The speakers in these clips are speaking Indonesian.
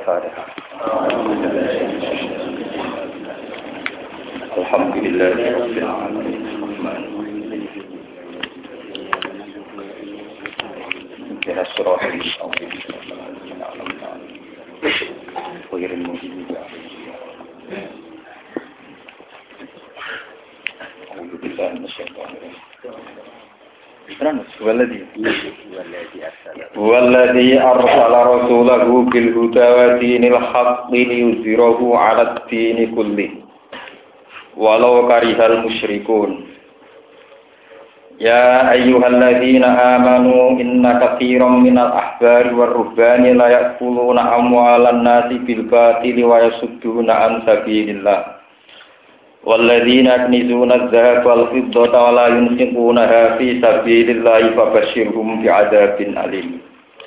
Al-Fatihah. Alhamdulillahirabbil alamin. Kira surah Walladhi arsala rasulahu bil huda wa dinil haqqi liyuzhirahu 'alad dini kullih walau karihal musyrikun. Ya ayyuhalladzina amanu inna katsiran minal ahbari war ruhbani la ya'kuluna amwalan nasi bil batili wa yasudduna an sabilillah. Walladzina yaknizuna adh-dhahaba wal fiddata wa la yunfiqunaha fi sabilillahi fabashshirhum bi'adzabin alim.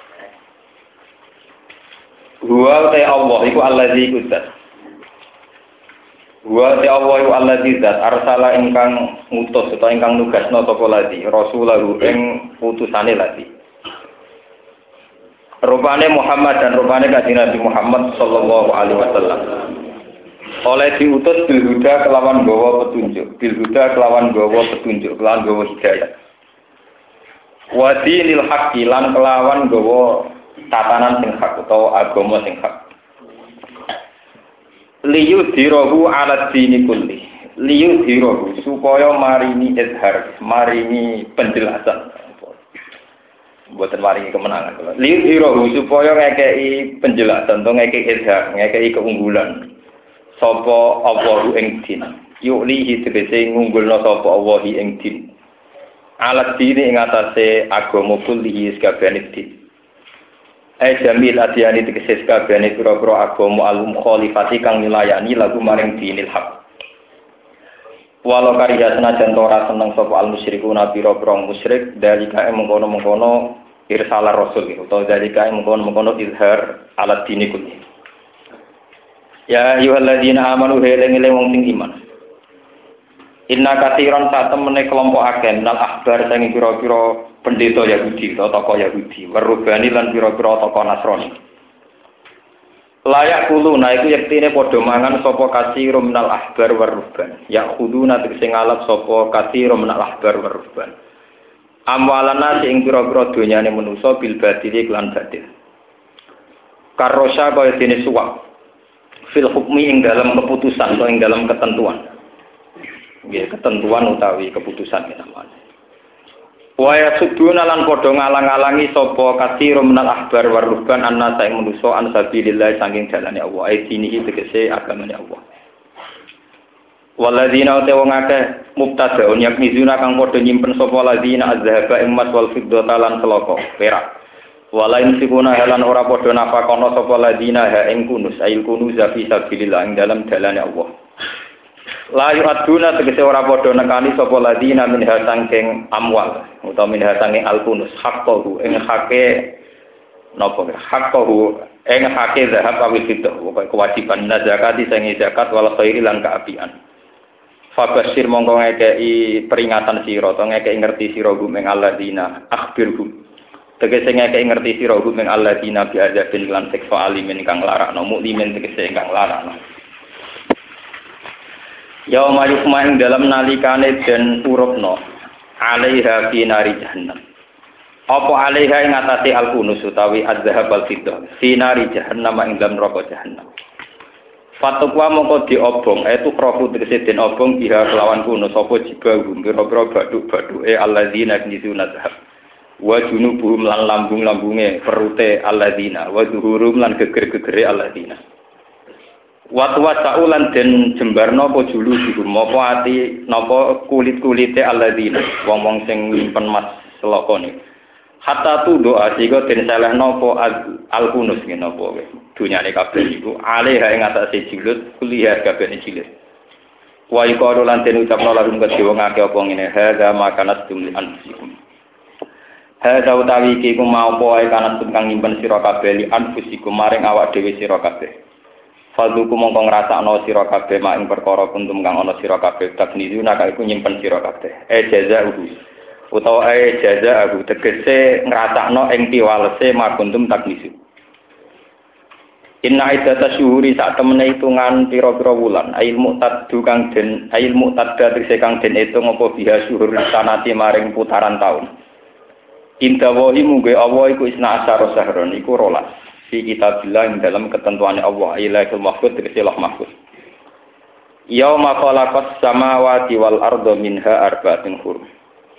Huwa ta Allah iku allazi kudzat. Huwa ta Allah iku allazi zat arsala ingkang ngutus utawa ingkang nugasna sapa lati rasulahu ing utusane lati. Rupane Muhammad dan rupane Kanjeng Nabi Muhammad sallallahu alaihi wasallam. Oleh diutus bil huda kelawan gawa petunjuk, kelawan gawa hidayah. Wa dinil haqqi lan kelawan gawa tatanan sing hak utawa agama sing hak. Liyudhirahu 'ala dini kulli. Liyudhirahu supaya marini izhar, marini penjelasan. Mboten maringi kemenangan. Liyudhirahu supaya ngekeki penjelasan, to ngekeki izhar, ngekeki keunggulan. Sapa Allahu ing din yulihi tegese ngunggulna sapa Allah ing din alat dini ing atase agama kullihi sakabehane din jamil adiyani tegese sakabehane pira-pira agama al-mukhalifati kang nilayani lagu maring dinil haq walau kariya senajan ora seneng sapa al-musyrikuna pira-pira musyrik dalika mengkono-mengkono irsalar rasul utawa dalika mengkono-mengkono izhar alat dini kullihi. Ya ayyuhalladzina amanu heleng-eleng wong sing iman. Inna katsiran satemene kelompok akeh nal ahbar sing pira-pira pendeta Yahudi utawa tokoh Yahudi, warubani lan pira-pira tokoh Nasrani. Layak kuluna iku yektine padha mangan sapa katsirum minal ahbar warubban. Ya khuduna tegese ngalap sapa katsirum minal ahbar warubban. Amwalana sing pira-pira donyane manusa bil badili lan badil. Karosha kaya dene suwak. Fil hukmi ing dalam keputusan atau ing dalam ketentuan. Nggih, ketentuan utawi keputusan namanya. Wa yasuduna lan padha ngalang-alangi sapa katsirum minal ahbar warubban annasa ing manusa an sabilillah saking dalane Allah. Aidinihi tegese agamane Allah. Walladzina wong akeh mubtada'un yakmizuna kang padha nyimpen sapa ladzina azhaba ing mas wal fiddata lan selaka perak. Walain sikuna halan ora padha nafakono sapa ladina ha ing kunus ail kunuz fi sabilillah ing dalam dalane Allah. La yu'aduna tegese ora padha nekani sapa ladina min hasangking amwal utawa min hasangking al kunus haqqahu ing hake napa haqqahu ing hake zahab awil fitah kewajiban zakati sing zakat wal khairi lan kaapian. Fabashir mongko ngekeki peringatan sira utawa ngekeki ngerti sira gum ing alladzina akhbirhum tegese ngekeki ngerti sira hum ing alladzina bi adzabin lan siksa alimin kang larakno mukmin tegese kang larakno. Yauma yukma ing dalam nalikane den urupno alaiha fi nari jahannam. Apa alaiha ing atase al-kunus utawi adzhab al-fiddah fi nari jahannam ing dalam neraka jahannam. Fatukwa mongko diobong itu krofu tegese den obong biha kelawan kunus apa jibahu pira-pira baduk-baduke alladzina yaknizuna zahab. Wa junubuhum lan lambung-lambunge perute alladzina wa zuhurum lan geger-gegere alladzina wa tuwasaulan den jembarno apa julu dikum apa ati napa kulit-kulite alladzina wong-wong sing nyimpen mas selakane hatta tu doa sika den selehno apa al-kunus ngene apa wae dunyane kabeh iku alih ing atase jilut kuliah kabeh jilut wa iqalu lan den ucapno larum kedhe wong akeh apa ngene hadza makanat tum anfusikum. Hadza utawi iki ku mau poe kanat kang nyimpen sira kabeh li anfusikum maring awak dhewe sira kabeh. Fadhuku mongko ngrasakno sira kabeh mak ing perkara kuntum kang ana sira kabeh taknizuna kae ku nyimpen sira kabeh. Jazauhu utawa jazauhu tegese ngrasakno ing piwalese mak kuntum taknizu. Inna iddata syuhuri sak temene hitungan pira-pira wulan ail muqtaddu kang den ail muqtadda tegese kang den hitung apa biha syuhur sanati maring putaran taun. Inda wahi mungge Allah iku isna asyara sahron iku 12 fi kitabillah ing dalam ketentuane Allah ilaihul mahfuz tegese Allah mahfuz. Yauma khalaqas samawati wal arda minha arba'atun hurum.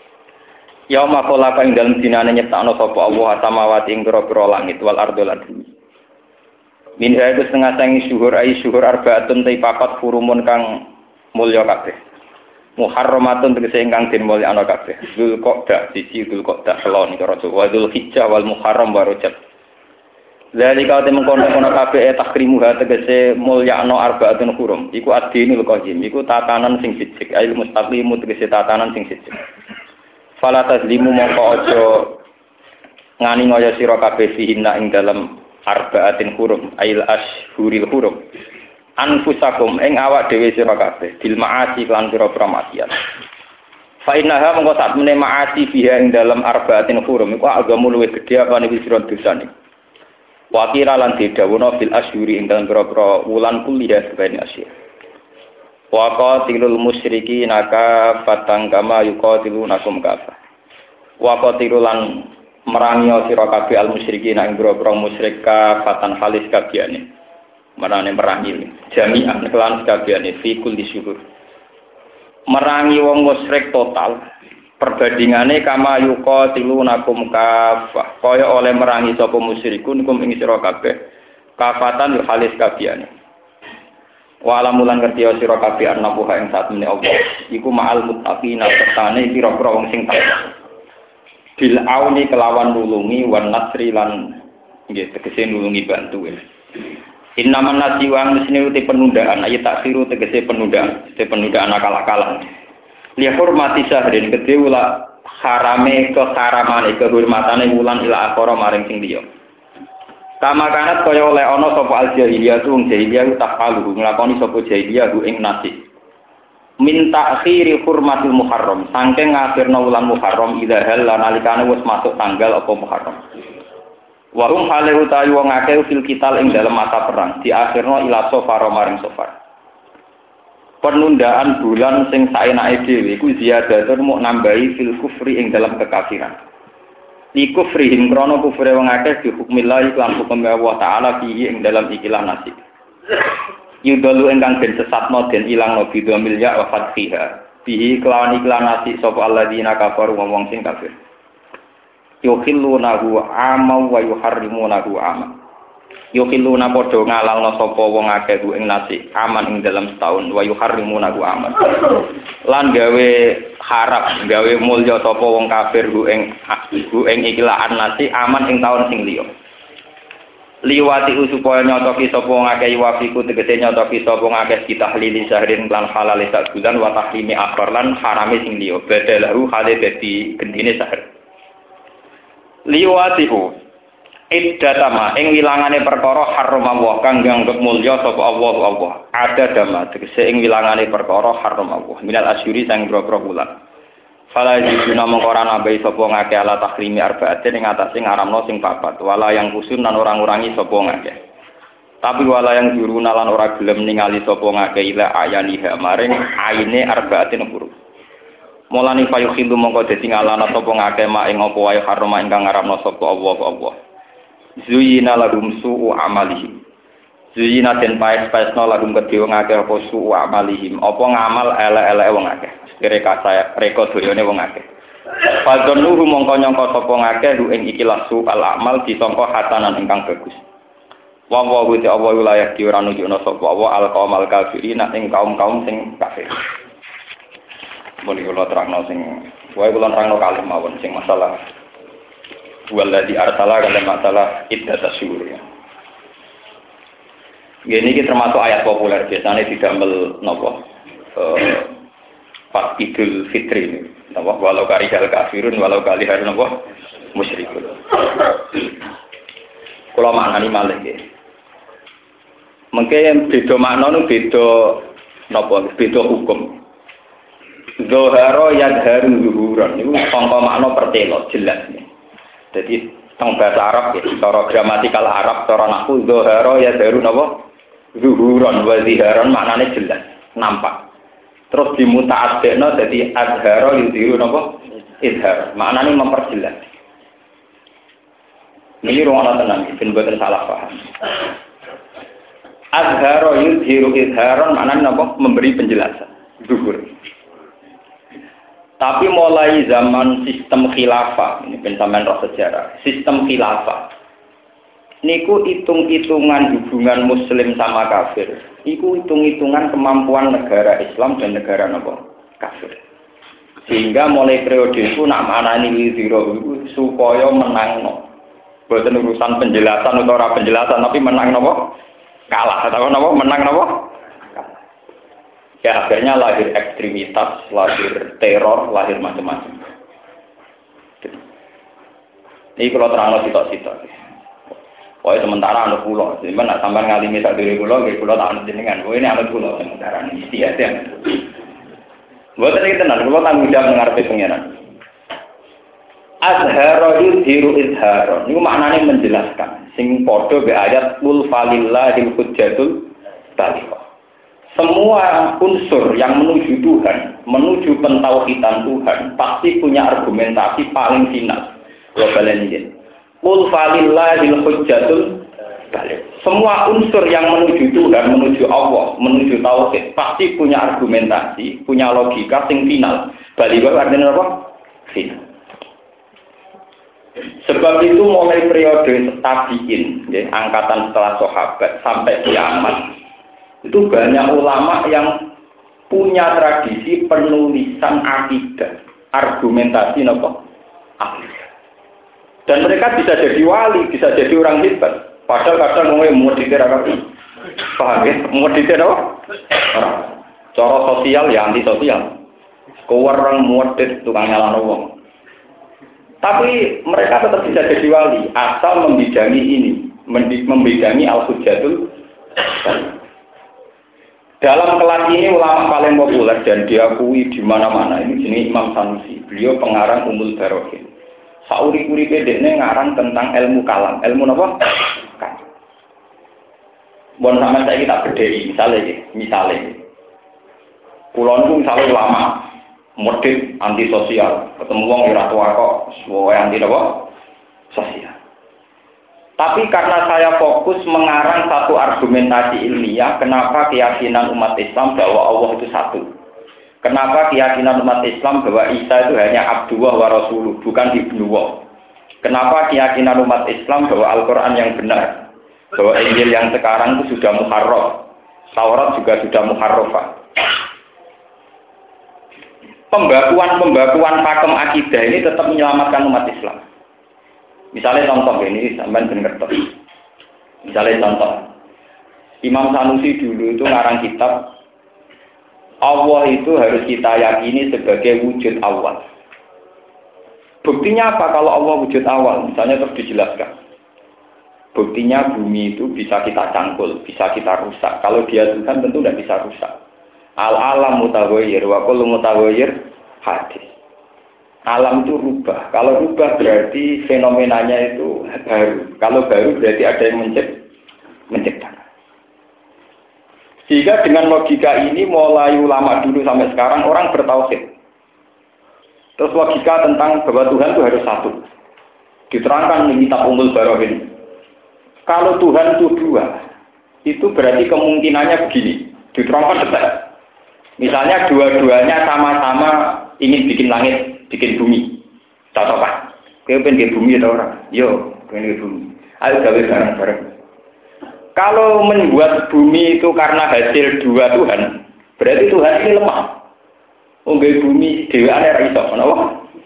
Yauma khalaqa ing dalem dinane nyiptakno sapa Allah samawati ing pira-pira langit wal arda lan bumi. Minha itu setengah sangi syuhur ai syuhur arba'atun ta papat hurumun kang mulya kabeh. Muharramatun tegese ingkang den mulyakno kabeh. Dzulqa'dah siji Dzulqa'dah kelon karo Jawa Dzulhijjah wal Muharram wa Rajab. Zalika te mengkono-kono kabeh takrimuha tegese mulyakno arba'atun hurum. Iku ad-dinul qayyim, iku tatanan sing sithik, ail mustaqimu tegese tatanan sing sithik. Fala tazlimu mongko aja ngani ngaya sira kabeh fihinna ing dalem arba'atin hurum ail ashhuril hurum anfusakum ing awak dhewe sira kabeh bil ma'asi lan pira-pira maksiat fa innaha mongko sak meneh ma'asi biha ing dalem arba'atin hurum iku agamu luwih gedhe apa nek sira dosane wa kira lan didhawuhna bil ashhuri ing dalem pira-pira wulan kuliah sebene asyir wa qatilul musyrikin ka fatang kama yuqatilunakum kafa wa qatilulan merangi sira kabeh al musyrikin ing boro-boro musyrik kafatan halis kabehane marane merangi jami'an kelan kabehane fi kulli syuhur merangi wong musyrik total perbandingane kama yuqatilunakum kafah kaya oleh merangi sapa musyrikun kum ing sira kabeh kafatan halis kabehane walamulan ngerti sira kabeh ana buha ing sak meneh Allah iku ma'al muttaqina sertane pira-pira wong sing takwa bil auni kelawan nulungi wan nasri lan nggih tegese nulungi bantu. Innaman nasiwan mesine uti penundaan ayat taksiru tegese penundaan akal-akalan. Li hormati sahrin kedhe ula harame keharamane kehormatane wulan ila akhara maring sing liya. Kama kanat kaya oleh ana sapa al jahiliyah tu jahiliyah tafalu nglakoni sapa jahiliyah ing nasib. Min ta'khiri hurmatil muharram saking ngakhirna wulan muharram idza hal nalikane wis masuk tanggal apa muharram wa hum hale utawi wong akeh fil kital ing dalam mata perang diakhirna ila safar maring safar penundaan bulan sing saenake dhewe iku ziyadatun muk nambahi fil kufri ing dalam kekafiran li kufrihim krana kufre wong akeh di hukmillah lan hukum Allah taala fihi ing dalam ikilah nasib yudalu ingkang den sesatno den ilangno bidhamil ya wa fathiha bihi kelawan iklanasi sapa alladzina kafaru wong sing kafir yukhillunahu ama wa yuharrimunahu ama yukhilluna padha ngalalno sapa wong akeh ing nasi aman ing dalam setahun wa yuharrimunahu aman lan gawe harap gawe mulya sapa wong kafir ing ikilaan nasi aman ing taun sing liya liwati supaya nyotoki sapa ngakeh wafiku tegese nyotoki sapa ngakeh ditahlili sahrin lan halal sak bulan wa tahlimi akhir lan harame sing liya badalahu hale dadi gendine sahar liwati iddatama ing wilangane perkara haram Allah kang nganggep mulya sapa Allah ada dama tegese ing wilangane perkara haram Allah minal asyuri sang boro-boro bulan fala jiduna mengkora nabai sapa ngake ala tahrimi arba'atin ing atase ngaramno sing papat wala yang kusun lan orang ngurangi sapa ngake tapi wala yang juruna lan ora gelem ningali sapa ngake ila ayaniha maring aine arba'atin huruf mulane fayukhillu mongko dadi ngalana sapa ngake mak ing apa wae harama ingkang ngaramno sapa Allah zuyina lahum su'u amalihim zuyina den paes-paesno lahum kedhe wong akeh apa su'u amalihim apa ngamal elek-elek wong akeh reka doyone wong akeh. Fadzannuhu mongko nyangka sapa ngakeh ing ikilah su al amal disangka hatanan ingkang bagus. Wa wa wa Allah wilayah di ora nunjukna sapa wa al qaumal kafirin ing kaum-kaum sing kafir. Mun kula terangno sing wae kula terangno kalih mawon sing masalah waladhi arsala kana masalah iddatus syuhur ya. Ini termasuk ayat populer biasanya didamel napa pas Idul Fitri ini, walau karihal kafirun, walau karihal musyrikun. Kalau maknani malih ya. Mungkin beda makna nu beda hukum. Zoharo yadharu zuhuran itu sangka makna pertelo jelas nih. Jadi teng bahasa Arab ya, cara gramatikal Arab, cara nahwu dzahara ya daru napa? Zuhuron wa ziharon maknane jelas, nampak. Terus dimuta'addekno dadi adhara yudhiru napa? Izhar. Maknane memperjelas. Ini ruang tenang, ben boten salah paham. Adhara yudhiru izharon maknane napa? Memberi penjelasan. Zuhur. Tapi mulai zaman sistem khilafah, ini sampeyan roh sejarah, sistem khilafah. Niku hitung-hitungan hubungan muslim sama kafir. Iku hitung-hitungan kemampuan negara Islam dan negara napa? Kafir. Sehingga mulai periode itu nak manani wiziro itu supaya menangno. Boten urusan penjelasan atau ora penjelasan tapi menang napa? Kalah atau napa? Menang napa? Ya akhirnya lahir ekstremitas, lahir teror, lahir macam-macam. Ini kalau terang sitok-sitok. Pokoknya sementara anak pulau, jadi nak sampai ngalimi sak diri pulau, jadi pulau tak anak jenengan. Oh ini anak pulau sementara ini istiadat. Buat tadi tenan, pulau tanggung jawab mengarpe pengiran. Azharo yudhiru izharo. Ini maknanya menjelaskan. Sing podo be ayat kul falillahil hujjatul baligha. Semua unsur yang menuju Tuhan, menuju pentauhidan Tuhan, pasti punya argumentasi paling final. Globalen ini. Qul falillahil hujjatul baligh. Semua unsur yang menuju Tuhan, menuju Allah, menuju tauhid, pasti punya argumentasi, punya logika sing final. Baligh artinya apa? Final. Sebab itu mulai periode tabi'in, ya, angkatan setelah sahabat sampai kiamat. Itu banyak ulama yang punya tradisi penulisan akidah, argumentasi nopo akidah. Dan mereka bisa jadi wali, bisa jadi orang hebat. Padahal kadang ngomong mau dikira-kira, paham ya? Mau dikira apa? Cara sosial ya antisosial. Orang muadid tukang nyalano wong. Tapi mereka tetap bisa jadi wali asal membidangi ini, membidangi al-hujjatul. Dalam kelas ini ulama paling populer dan diakui di mana-mana ini jenis Imam Sanusi. Beliau pengarang Ummul Barohin. Sauri-uripe dekne ngarang tentang ilmu kalam. Ilmu apa? Kan. Bon sampean saiki tak bedheki misale. Kula niku misale ulama modern antisosial, ketemu wong ora tua kok, suwe anti apa? Sosial. Tapi karena saya fokus mengarang satu argumentasi ilmiah, kenapa keyakinan umat Islam bahwa Allah itu satu? Kenapa keyakinan umat Islam bahwa Isa itu hanya Abdullah wa Rasuluh, bukan Ibnuwah? Kenapa keyakinan umat Islam bahwa Al-Quran yang benar, bahwa Injil yang sekarang itu sudah muharraf, Taurat juga sudah muharrafah? Pembakuan pakem akidah ini tetap menyelamatkan umat Islam. Misalnya contoh ini, sampai benar toh. Misalnya contoh, Imam Sanusi dulu itu ngarang kitab, Allah itu harus kita yakini sebagai wujud awal. Buktinya apa kalau Allah wujud awal? Misalnya terus dijelaskan. Buktinya bumi itu bisa kita cangkul, bisa kita rusak. Kalau dia Tuhan tentu tidak bisa rusak. Al-alam mutaghayyir wa kullu mutaghayyir hadis. Alam itu rubah. Kalau rubah berarti fenomenanya itu baru. Kalau baru berarti ada yang menciptakan. Sehingga dengan logika ini mulai ulama dulu sampai sekarang orang bertauhid. Terus logika tentang bahwa Tuhan itu harus satu. Diterangkan di kitab Ummul Barohin. Kalau Tuhan itu dua, itu berarti kemungkinannya begini. Diterangkan detail. Misalnya dua-duanya sama-sama ingin bikin langit, bikin bumi. Cocokan. Kau pengen bumi atau orang? Yo, pengen bumi. Ayo gawe bareng-bareng. Kalau membuat bumi itu karena hasil dua Tuhan, berarti Tuhan ini lemah. Unggah bumi dewa ada iso, kenapa?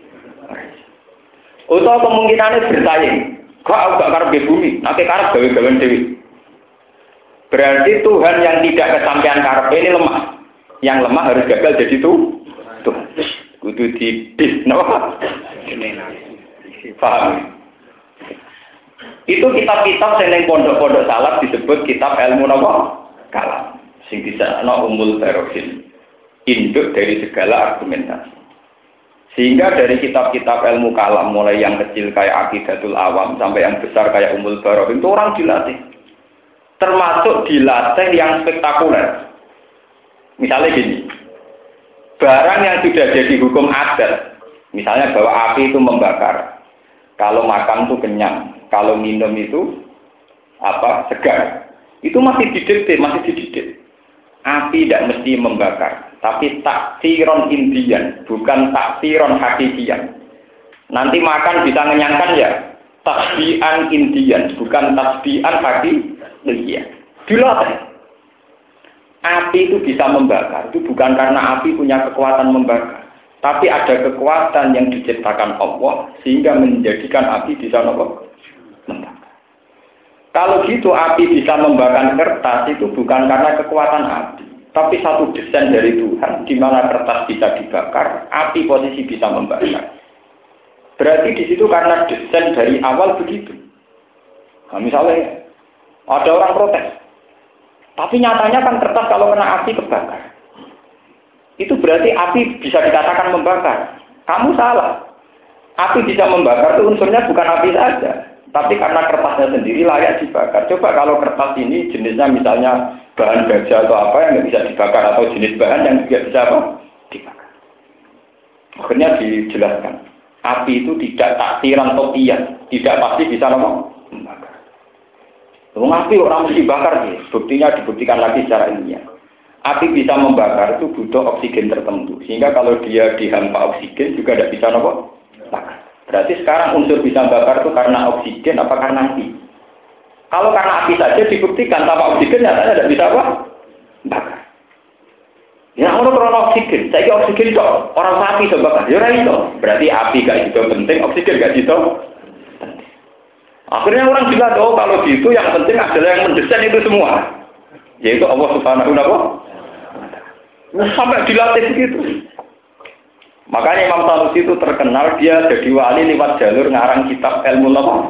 Atau kemungkinannya bersaing. Kok aku gak karep bumi, nanti karep gawe-gawean dewi. Berarti Tuhan yang tidak kesampaian karep ini lemah. Yang lemah harus gagal jadi Tuhan. Kudu didis, kenapa? Paham? Itu kitab-kitab yang pondok-pondok salaf disebut kitab ilmu napa? Kalam. Sing disana Ummul Barohin. Induk dari segala argumentasi. Sehingga dari kitab-kitab ilmu kalam, mulai yang kecil kayak Aqidatul Awam sampai yang besar kayak Ummul Baro'in, itu orang dilatih. Termasuk dilatih yang spektakuler. Misalnya gini, barang yang sudah jadi hukum adat, misalnya bahwa api itu membakar, kalau makan itu kenyang, kalau minum itu segar, itu masih dididik. Api tidak mesti membakar, tapi taksiron indian, bukan taksiron hakikian. Nanti makan bisa mengenyangkan ya, tasbihan indian, bukan tasbihan hakikian. Dilatih. Api itu bisa membakar, itu bukan karena api punya kekuatan membakar, tapi ada kekuatan yang diciptakan Allah sehingga menjadikan api bisa membakar. Kalau gitu api bisa membakar kertas itu bukan karena kekuatan api, tapi satu desain dari Tuhan di mana kertas bisa dibakar, api posisi bisa membakar. Berarti di situ karena desain dari awal begitu. Nah, misalnya ada orang protes, tapi nyatanya kan kertas kalau kena api kebakar. Itu berarti api bisa dikatakan membakar. Kamu salah. Api bisa membakar itu unsurnya bukan api saja. Tapi karena kertasnya sendiri layak dibakar. Coba kalau kertas ini jenisnya misalnya bahan baja atau apa yang nggak bisa dibakar, atau jenis bahan yang juga bisa dibakar. Akhirnya dijelaskan, api itu tidak taksiran topian, tidak pasti bisa membakar. Api orang mesti dibakar sih. Buktinya dibuktikan lagi secara ilmiah. Api bisa membakar itu butuh oksigen tertentu, sehingga kalau dia dihampa oksigen juga tidak bisa bakar. Berarti sekarang unsur bisa bakar itu karena oksigen apa karena api? Kalau karena api saja dibuktikan tanpa oksigen nyatanya tidak bisa bakar. Ya orang karena oksigen, saya kira oksigen itu orang sapi bisa bakar, ya itu. Berarti api gak itu penting, oksigen gak itu penting. Akhirnya orang bilang, oh kalau gitu yang penting adalah yang mendesain itu semua, yaitu Allah Subhanahu wa Ta'ala. Sampai dilatih begitu. Makanya Imam Sanusi itu terkenal, dia jadi wali lewat jalur ngarang kitab ilmu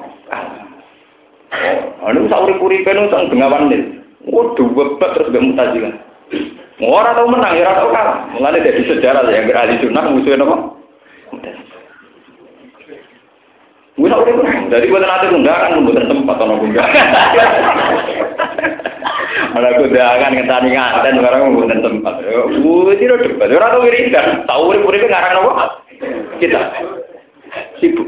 Anu sauri-uripen utang bengawan nil. Waduh, bebat terus gak Mu'tazilah. Ora tau menang, ora tau kalah. Mulane dari sejarah yang ahli sunnah musuhnya apa? Wis ora menang. Dari buatan ate undangan mboten tempat ana undangan. Ana undangan ngenteni ngaten barang mboten tempat. Wis ora debat. Ora tau wiridan. Tau urip-uripe ngarang apa? Kita sibuk.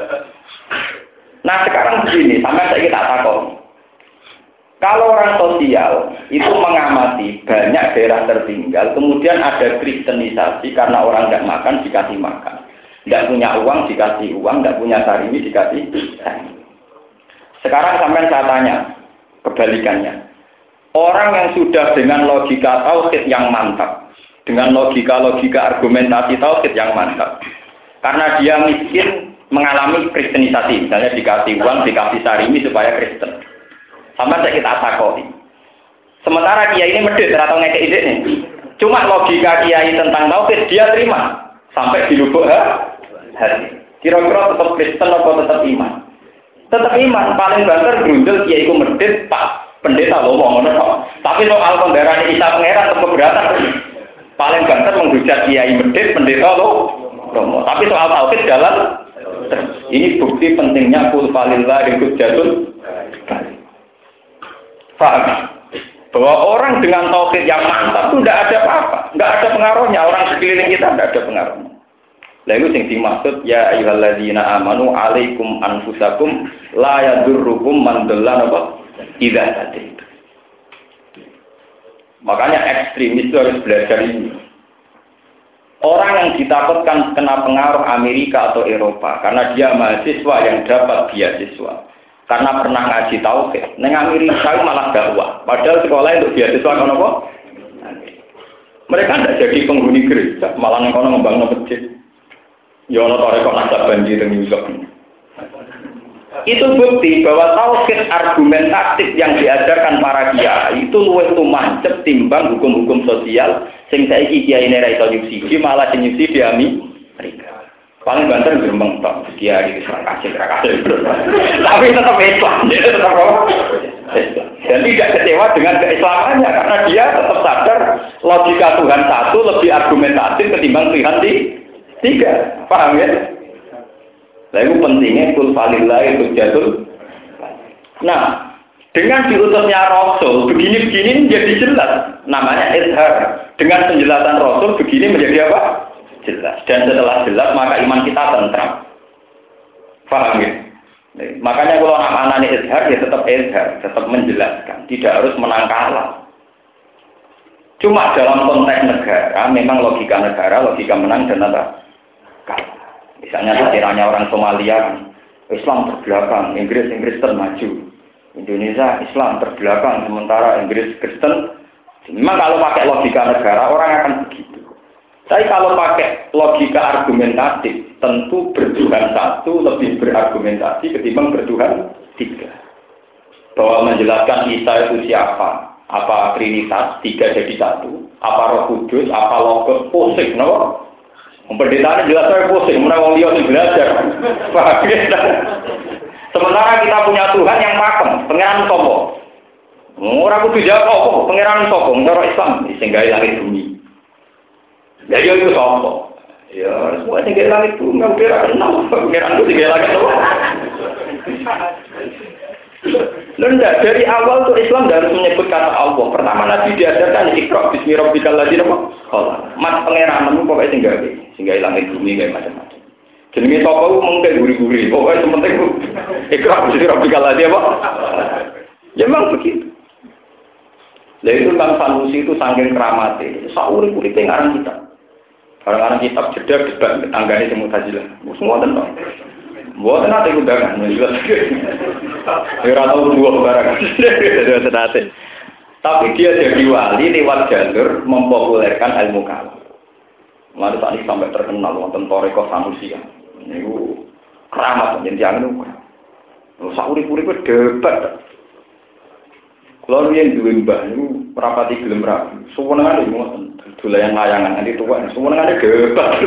Nah sekarang begini, sampai saya tak takut. Kalau orang sosial itu mengamati banyak daerah tertinggal, kemudian ada kristenisasi karena orang tidak makan dikasih makan, tidak punya uang dikasih uang, tidak punya sarimi dikasih sarimi. Sekarang sampai saya tanya kebalikannya, orang yang sudah dengan logika tauhid yang mantap, dengan logika argumentasi tauhid yang mantap, karena dia miskin mengalami kristenisasi, misalnya dikasih uang, dikasih sarimi supaya Kristen. Sama saya kita takoi. Sementara kiai ini medit atau ngekek ide nih. Cuma logika kiai tentang tauhid dia terima sampai di lubuk hati. Kira-kira tetap Kristen atau tetap iman? Tetap iman. Paling banter grundel kiai itu medit pak pendeta loh ngono kok. Tapi soal pembelaan Isa Pangeran tetap keberatan. Paling banter menghujat kiai medit pendeta loh. Tapi soal tauhid jalan. Ini bukti pentingnya kul falillah hujjatun. Paham? Bahwa orang dengan tauhid yang mantap itu tidak ada apa-apa, tidak ada pengaruhnya. Orang sekeliling kita tidak ada pengaruhnya. Lalu yang dimaksud ya ayyuhalladzina amanu alaikum anfusakum la yadurrukum man dhalla idza hadaitum. Makanya ekstremis itu harus belajar ini. Orang yang ditakutkan kena pengaruh Amerika atau Eropa karena dia mahasiswa yang dapat beasiswa karena pernah ngaji tauhid. Neng Amerika malah dakwah. Padahal sekolah untuk beasiswa kan apa? Mereka tidak jadi penghuni gereja, malah neng kono membangun masjid. Ya ono toreko nasab banjir New York. Itu bukti bahwa tauhid argumentatif yang diajarkan para kiai itu luwih tumancep timbang hukum-hukum sosial sing saiki kiai ra iso nyubsidi malah sing nyubsidi Amerika. Paling banter gremeng tok kiai wis ra kasih. Tapi tetap Islam, dan tidak kecewa dengan keislamannya karena dia tetap sadar logika Tuhan satu lebih argumentatif ketimbang Tuhan di 3, paham ya? Lah itu pentingnya kul falillah itu jatuh. Nah, dengan diutusnya Rasul begini-begini menjadi jelas. Namanya izhar. Dengan penjelasan Rasul begini menjadi apa? Jelas. Dan setelah jelas maka iman kita tentram. Paham ya? Makanya kalau anak-anak izhar ya tetap izhar, tetap menjelaskan, tidak harus menang kalah. Cuma dalam konteks negara, memang logika negara, logika menang dan apa? Kalah. Misalnya sekiranya orang Somalia kan, Islam terbelakang, Inggris termaju, Indonesia Islam terbelakang, sementara Inggris Kristen. Memang kalau pakai logika negara orang akan begitu. Tapi kalau pakai logika argumentatif, tentu bertuhan satu lebih berargumentasi ketimbang bertuhan 3. Bahwa menjelaskan Isa itu siapa, apa Trinitas 3 jadi 1, apa Roh Kudus, apa Logos, pusing, no? Pendetaannya jelas saya pusing, menang dia harus belajar. Sementara kita punya Tuhan yang pakem, pangeran sopo. Orang kudu jawab kok, pangeran sopo, cara Islam sehingga langit bumi. Jadi itu sopo. Ya, semua sehingga langit bumi, nggak kira kenal, pangeran itu sehingga langit sopo. Lendak dari awal tuh Islam harus menyebut kata Allah. Pertama Nabi diajarkan Iqra bismi rabbikal ladzi khalaq. Mat pangeranmu pokoke sehingga langit bumi kayak macam-macam. Jenenge sapa ku mungkin guri-guri. Pokoke penting ku Iqra bismi rabbikal ladzi apa? Ya memang begitu. Lah itu Kang Sanusi itu saking keramate. Saurip-uripe ngarang kitab. Orang-orang kitab jeda debat tanggane sing Mu'tazilah. Semua tenang. Buat nanti undangan, jelas. Ora tau buah barang. Tapi dia jadi wali lewat jalur mempopulerkan ilmu kalam. Lalu tadi sampai terkenal wonten Thariqah Sanusi. Niku keramat jenengan niku. Sauri-uripe debat. Kalau yang duwe mbah niku rapati gelem rapi. Suwenengane ngoten, dolayan layangan nanti tuwa. Suwenengane debat.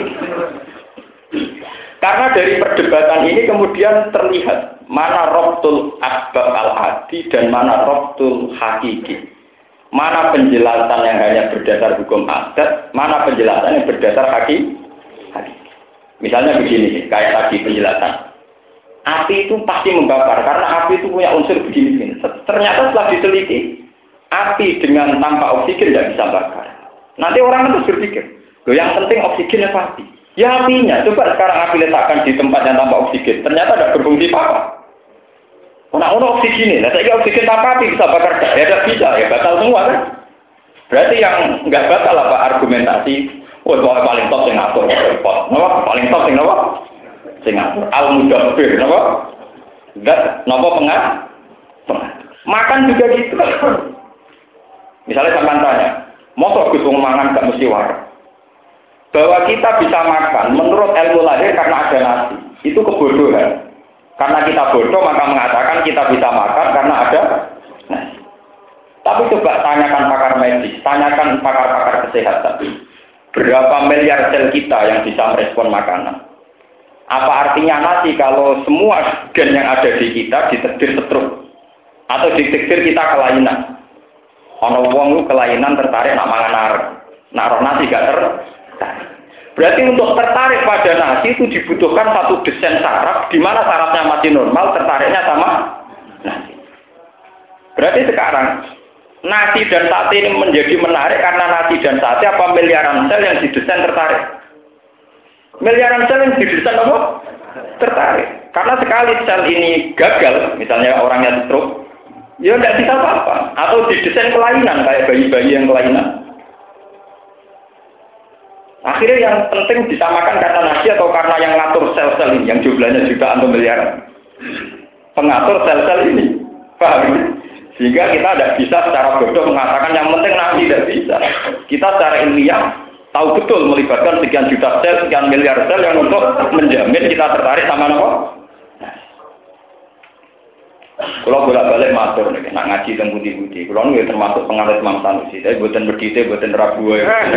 Karena dari perdebatan ini kemudian terlihat mana robtul asbab al-adi dan mana robtul hakiki. Mana penjelasan yang hanya berdasar hukum adat, mana penjelasan yang berdasar hakiki. Misalnya begini, kayak tadi penjelasan. Api itu pasti membakar, karena api itu punya unsur begini. Ternyata setelah diteliti, api dengan tanpa oksigen tidak bisa bakar. Nanti orang terus berpikir, yang penting oksigennya pasti. Ya apinya, coba sekarang api letakkan di tempat yang tanpa oksigen, ternyata tidak berfungsi apa. Ono oksigen, nah saya oksigen tanpa api bisa bakar, ya tidak bisa, ya batal semua kan. Berarti yang nggak batal apa argumentasi, paling top sing ngatur, paling top sing apa? Sing ngatur, al-mudabbir, apa? Enggak, napa pengatur. Makan juga gitu. Misalnya sampean tanya, mosok Gus wong mangan gak mesti waras. Bahwa kita bisa makan menurut ilmu lahir karena ada nasi. Itu kebodohan. Karena kita bodoh maka mengatakan kita bisa makan karena ada nasi. Tapi coba tanyakan pakar medis, tanyakan pakar-pakar kesehatan. Berapa miliar sel kita yang bisa merespon makanan? Apa artinya nasi kalau semua gen yang ada di kita ditekdir setruk? Atau ditekdir kita kelainan? Ono wong lu kelainan tertarik nak mangan arep. Nak roh nasi gak tertarik. Berarti untuk tertarik pada nasi itu dibutuhkan satu desain saraf di mana sarafnya masih normal, tertariknya sama nasi. Berarti sekarang nasi dan sate ini menjadi menarik karena nasi dan sate apa miliaran sel yang didesain tertarik? Miliaran sel yang didesain apa? Tertarik. Karena sekali sel ini gagal, misalnya orangnya stroke, ya tidak bisa apa-apa. Atau didesain kelainan kayak bayi-bayi yang kelainan. Akhirnya yang penting disamakan karena nasi atau karena yang ngatur sel-sel ini yang jumlahnya jutaan atau miliaran. Pengatur sel-sel ini. Paham? Sehingga kita tidak bisa secara bodoh mengatakan yang penting nasi, tidak bisa. Kita secara ilmiah tahu betul melibatkan sekian juta sel, sekian miliar sel yang untuk menjamin kita tertarik sama apa? Kalau bolak-balik matur nih, nak ngaji tentang budi-budi. Kalau nih termasuk pengaruh Imam Sanusi, tapi buatan berdite, buatan ragu.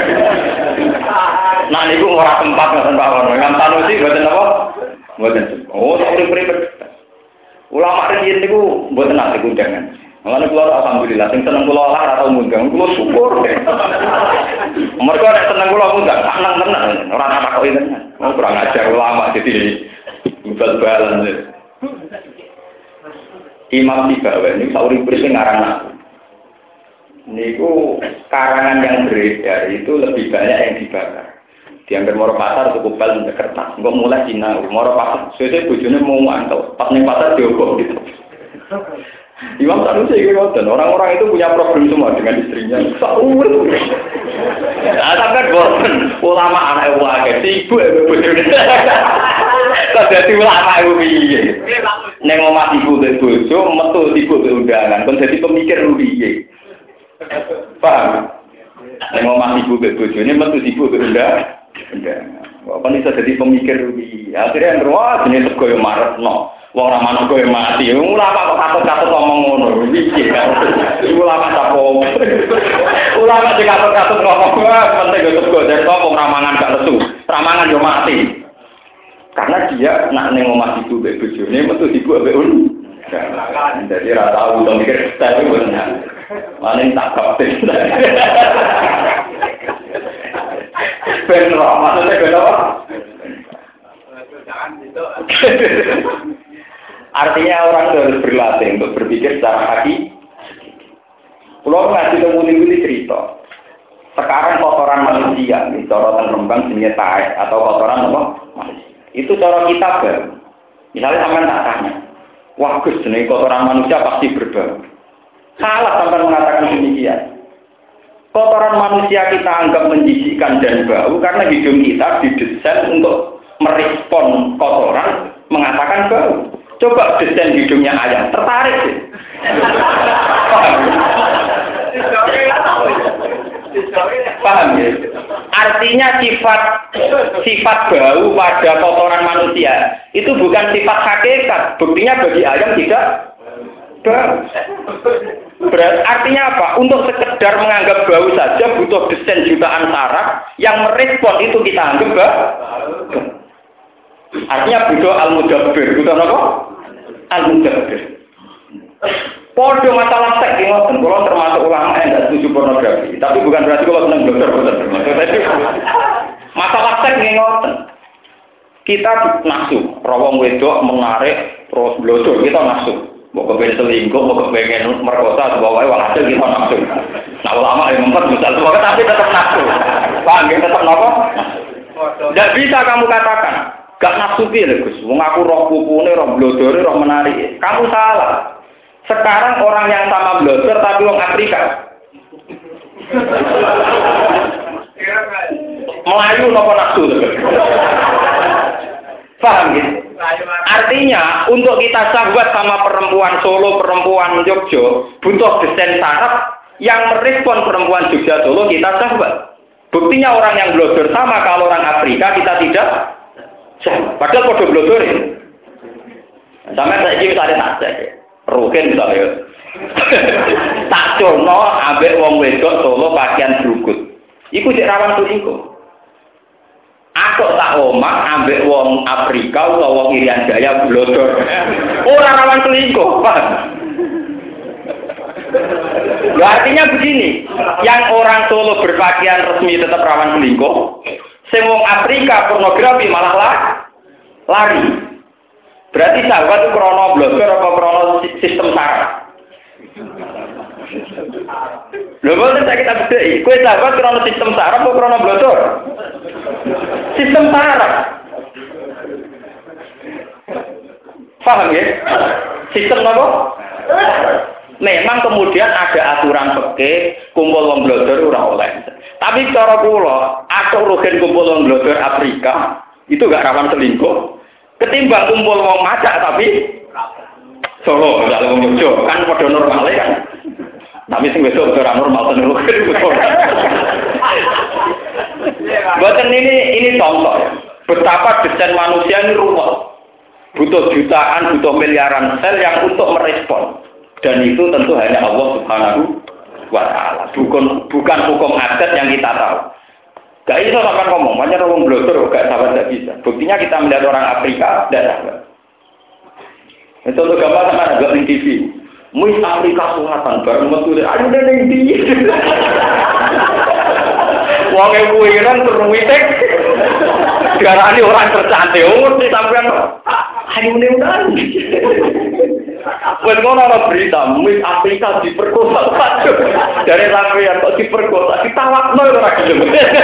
Nah ini gue orang tempat nggak tempat Imam Sanusi buatan apa? Buatan. Oh, tak boleh. Ulama ini gue buatan nanti undangan. Mulane kula alhamdulillah sing seneng kula lah ora tau ngundang, kula syukur. Mergo nek seneng kula ngundang, seneng tenan, ora tak takoki tenan. Mau kurang ajar ulama jadi bal-balan. Imam Tibawi ini sauri-uri ngarang aku. Niku karangan yang beredar itu lebih banyak yang dibakar. Diambil Moro Pasar cukup bal kertas. Engko mulai Cina, Moro Pasar sesuk bojone mau mantau. Pas ning pasar diobong gitu. Imam Sanusi itu orang-orang itu punya problem semua dengan istrinya. Saur. Nah, sampai bosen ulama anak wae, sibuk bojone. Kok dadi ulama iku piye? Ning omah ibu ke bojo, metu sibuk ke undangan, kon dadi pemikir piye? Paham? Ning omah ibu ke bojone metu sibuk ke undangan. Kok kon iso dadi pemikir piye? Akhire ngroa jenenge sego yo maretno. Wong ora manuk kowe mati. Ulama kok katut-katut ngomong ngono. Piye kan? Ulama sapo? Ulama sing katut-katut ngomong penting yo sego dari kok ramangan gak lesu. Ramangan yo mati. Karena dia nak ning omah ibu mbek bojone metu ibu mbek jadi ora tau to mikir style bener. Maning tak kapten. Ben ora maksudnya ben apa? Artinya orang harus berlatih untuk berpikir secara hati. Kalau ngaji temu-temu cerita, sekarang kotoran manusia, corotan rembang jenis taek atau kotoran apa? Itu cara kita baru. Misalnya sampai tak tanya, wah Gus, jenis kotoran manusia pasti berbau. Salah sampai mengatakan demikian. Kotoran manusia kita anggap menjijikkan dan bau karena hidung kita didesain untuk merespon kotoran mengatakan bau. Coba desain hidungnya ayam, tertarik sih. Paham ya? Artinya sifat bau pada kotoran manusia itu bukan sifat hakikat. Buktinya bagi ayam tidak bau. Artinya apa? Untuk sekedar menganggap bau saja butuh desain jutaan saraf yang merespon itu kita anggap bau. Artinya butuh al-mudabbir, butuh apa? Al-mudabbir. Podo masalah seks ini, kalau termasuk ulama yang tidak setuju pornografi, tapi bukan berarti kalau senang dokter, masalah seks ini ngoten. Kita nafsu, rawang wedok menarik terus blodor, kita nafsu. Mau kepengen selingkuh, mau kepengen merkosa, sebagai hasil kita nafsu. Nah ulama yang membuat misal sebagai tapi tetap nafsu. Paham ya, tetap apa? Tidak bisa kamu katakan. Gak nafsu piye Gus, wong aku roh pupune, roh blodore, roh menarik. Kamu salah. Sekarang orang yang sama blodor tapi wong Afrika. Melayu napa nafsu? Paham gitu? Artinya untuk kita sahabat sama perempuan Solo, perempuan Jogja, butuh desain saraf yang merespon perempuan Jogja Solo kita sahabat. Buktinya orang yang blodor sama kalau orang Afrika kita tidak. Padahal kode blodor ini. Sampai saya ini misalnya tak cek. Rukin misalnya. Tak cono ambek wong wedok Solo pakaian berukut. Iku cek rawan selingkuh. Aku tak omah ambek wong Afrika atau wong Irian Jaya blodor. Ora rawan selingkuh, Pak. Artinya begini, yang orang Solo berpakaian resmi tetap rawan selingkuh. Sing wong Afrika pornografi malah lari. Berarti sahabat itu krono blogger apa krono sistem saraf? Lho boten saya kita bedheki. Kowe sahabat krono sistem saraf apa krono blogger? Sistem saraf. Paham ya? Sistem apa? Memang kemudian ada aturan fikih kumpul wong blogger ora oleh. Tapi cara kula, atok rugen kumpul wong blogger Afrika, itu gak rawan selingkuh. Ketimbang kumpul wong macak tapi Solo, misalnya wong Jogja, kan padha normal kan. Tapi sing besok ora normal tenan rugen. Boten ini contoh ya. Betapa desain manusia ini rumit. Butuh jutaan, butuh miliaran sel yang untuk merespon. Dan itu tentu hanya Allah Subhanahu wa ta'ala. Bukan hukum adat yang kita tahu. Gak bisa sampai ngomong, banyak orang blogger, gak sahabat gak bisa. Buktinya kita melihat orang Afrika, tidak sahabat. Itu untuk gambar sama ada di TV. Muis Afrika Selatan bareng metu ayo ning ndi. Wong e kuwiran terwitek. Diarani orang tercantik, mesti sampean ayo ning ndi. Wes ngono ana berita, Muis Afrika diperkosa. Dari sampean kok diperkosa, ditawakno ora gelem.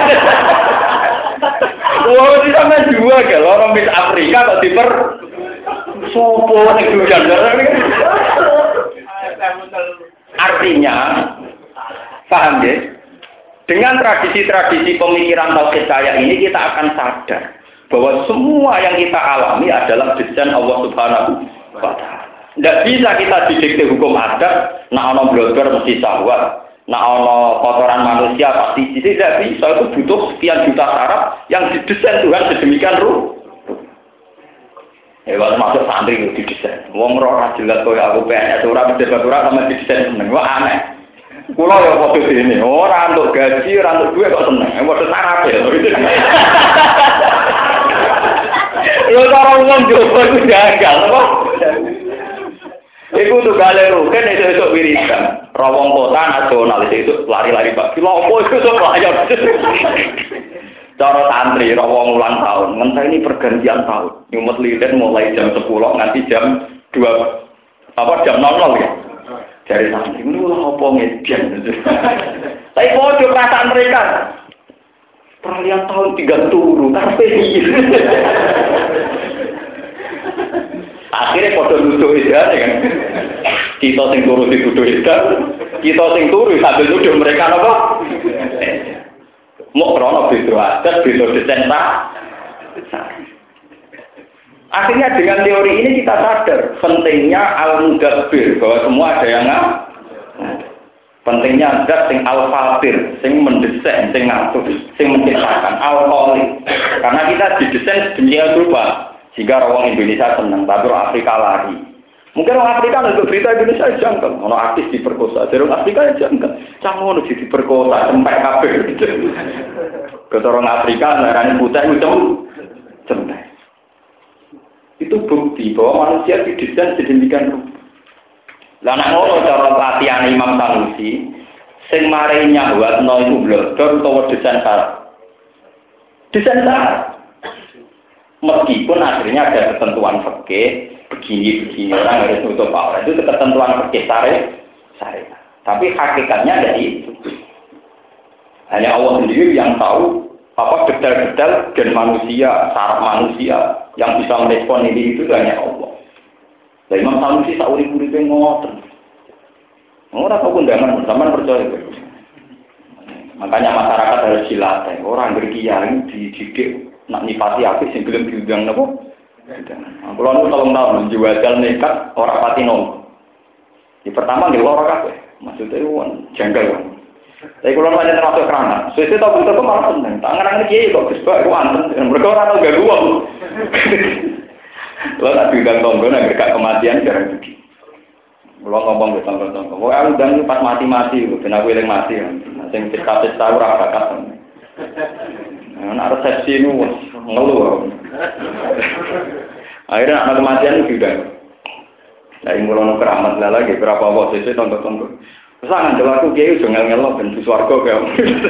Wong iki sampean dua gak orang Miss Afrika kok diper sopo nek jangan. Artinya, paham ya? Dengan tradisi-tradisi pemikiran tauhid kayak ini kita akan sadar bahwa semua yang kita alami adalah desain Allah Subhanahu wa Ta'ala. Tidak bisa kita didikte hukum adat, nak ono blogger mesti syahwat, nak ono kotoran manusia pasti tidak bisa. Itu butuh sekian juta syarat yang didesain Tuhan sedemikian rupa. Kalau masuk santri itu didesain. Wong ora jelas koyo aku PNS ora berdebat sama didesain seneng. Wah aneh. Kula ya padha dene, ora untuk gaji, ora untuk duit kok seneng. Padha sarap ya. Lho cara wong jowo iku gagal apa? Iku tuh galero kan esuk wiridan. Rawong kota nasional itu lari-lari Pak. Lha opo iku sok layar. Cara santri rawong ulang tahun, ngenteni pergantian tahun. Nyumet lilin mulai jam 10 nganti jam 2 jam 00 ya. Dari santri niku lha opo ngedian. Tapi podo perasaan mereka. Peralihan tahun 3 turu karepe iki. Akhirnya podo nuduh edane kan. Kita sing turu dituduh edan, kita sing turu sambil nuduh mereka napa? Mau krono beda adat, beda desain tak. Akhirnya dengan teori ini kita sadar pentingnya al-mudabbir bahwa semua ada yang pentingnya zat sing al-fatir, sing mendesain, sing ngatur, sing menciptakan al-khaliq. Karena kita didesain sedemikian rupa sehingga orang Indonesia senang, tapi orang Afrika lari. Mungkin orang Afrika untuk berita Indonesia jangkau, orang artis diperkosa, jadi orang Afrika jangkau, canggung udah diperkosa, sampai kabel. Kata orang Afrika, narani putih itu sampai. Itu bukti bahwa manusia didesain sedemikian rupa. Lah nek ngono cara latihan Imam Sanusi, sing mari nyawatno iku blogger utawa desain syarat. Desain syarat. Meskipun akhirnya ada ketentuan fikih begini orang harus nutup aurat itu ketentuan fikih syariat. Tapi hakikatnya dari itu. Hanya Allah sendiri yang tahu apa detail-detail gen manusia, saraf manusia yang bisa merespon ini itu hanya Allah. Lah Imam Sanusi sak urip-uripe ngoten. Ora kok undangan sampean percaya. Makanya masyarakat harus dilatih. Orang berkiai dididik nak nipati apik sing gelem diundang napa? Kulo nu tolong tahun jual nekat ora pati nong. Di pertama nggih ora kabeh. Maksudnya wong janggal. Tapi kulo pancen termasuk kerana. Sesuk tak butuh malah seneng. Tangan-tangan kiai kok Gus Bak wonten. Mergo ora tau ganggu wong. Kulo tak diundang tonggo nang gak kematian jarang iki. Kulo ngomong ke tonggo-tonggo. Wong aku undang pas mati-mati, ben aku eling mati. Sing cerita-cerita ora bakat. Nah, resepsi nu ngeluh. Akhirnya anak kematian sudah. Dari mulai keramat lagi berapa waktu itu tonton. Pesangan kalau aku kiai jangan ngelok dan suarga kayak.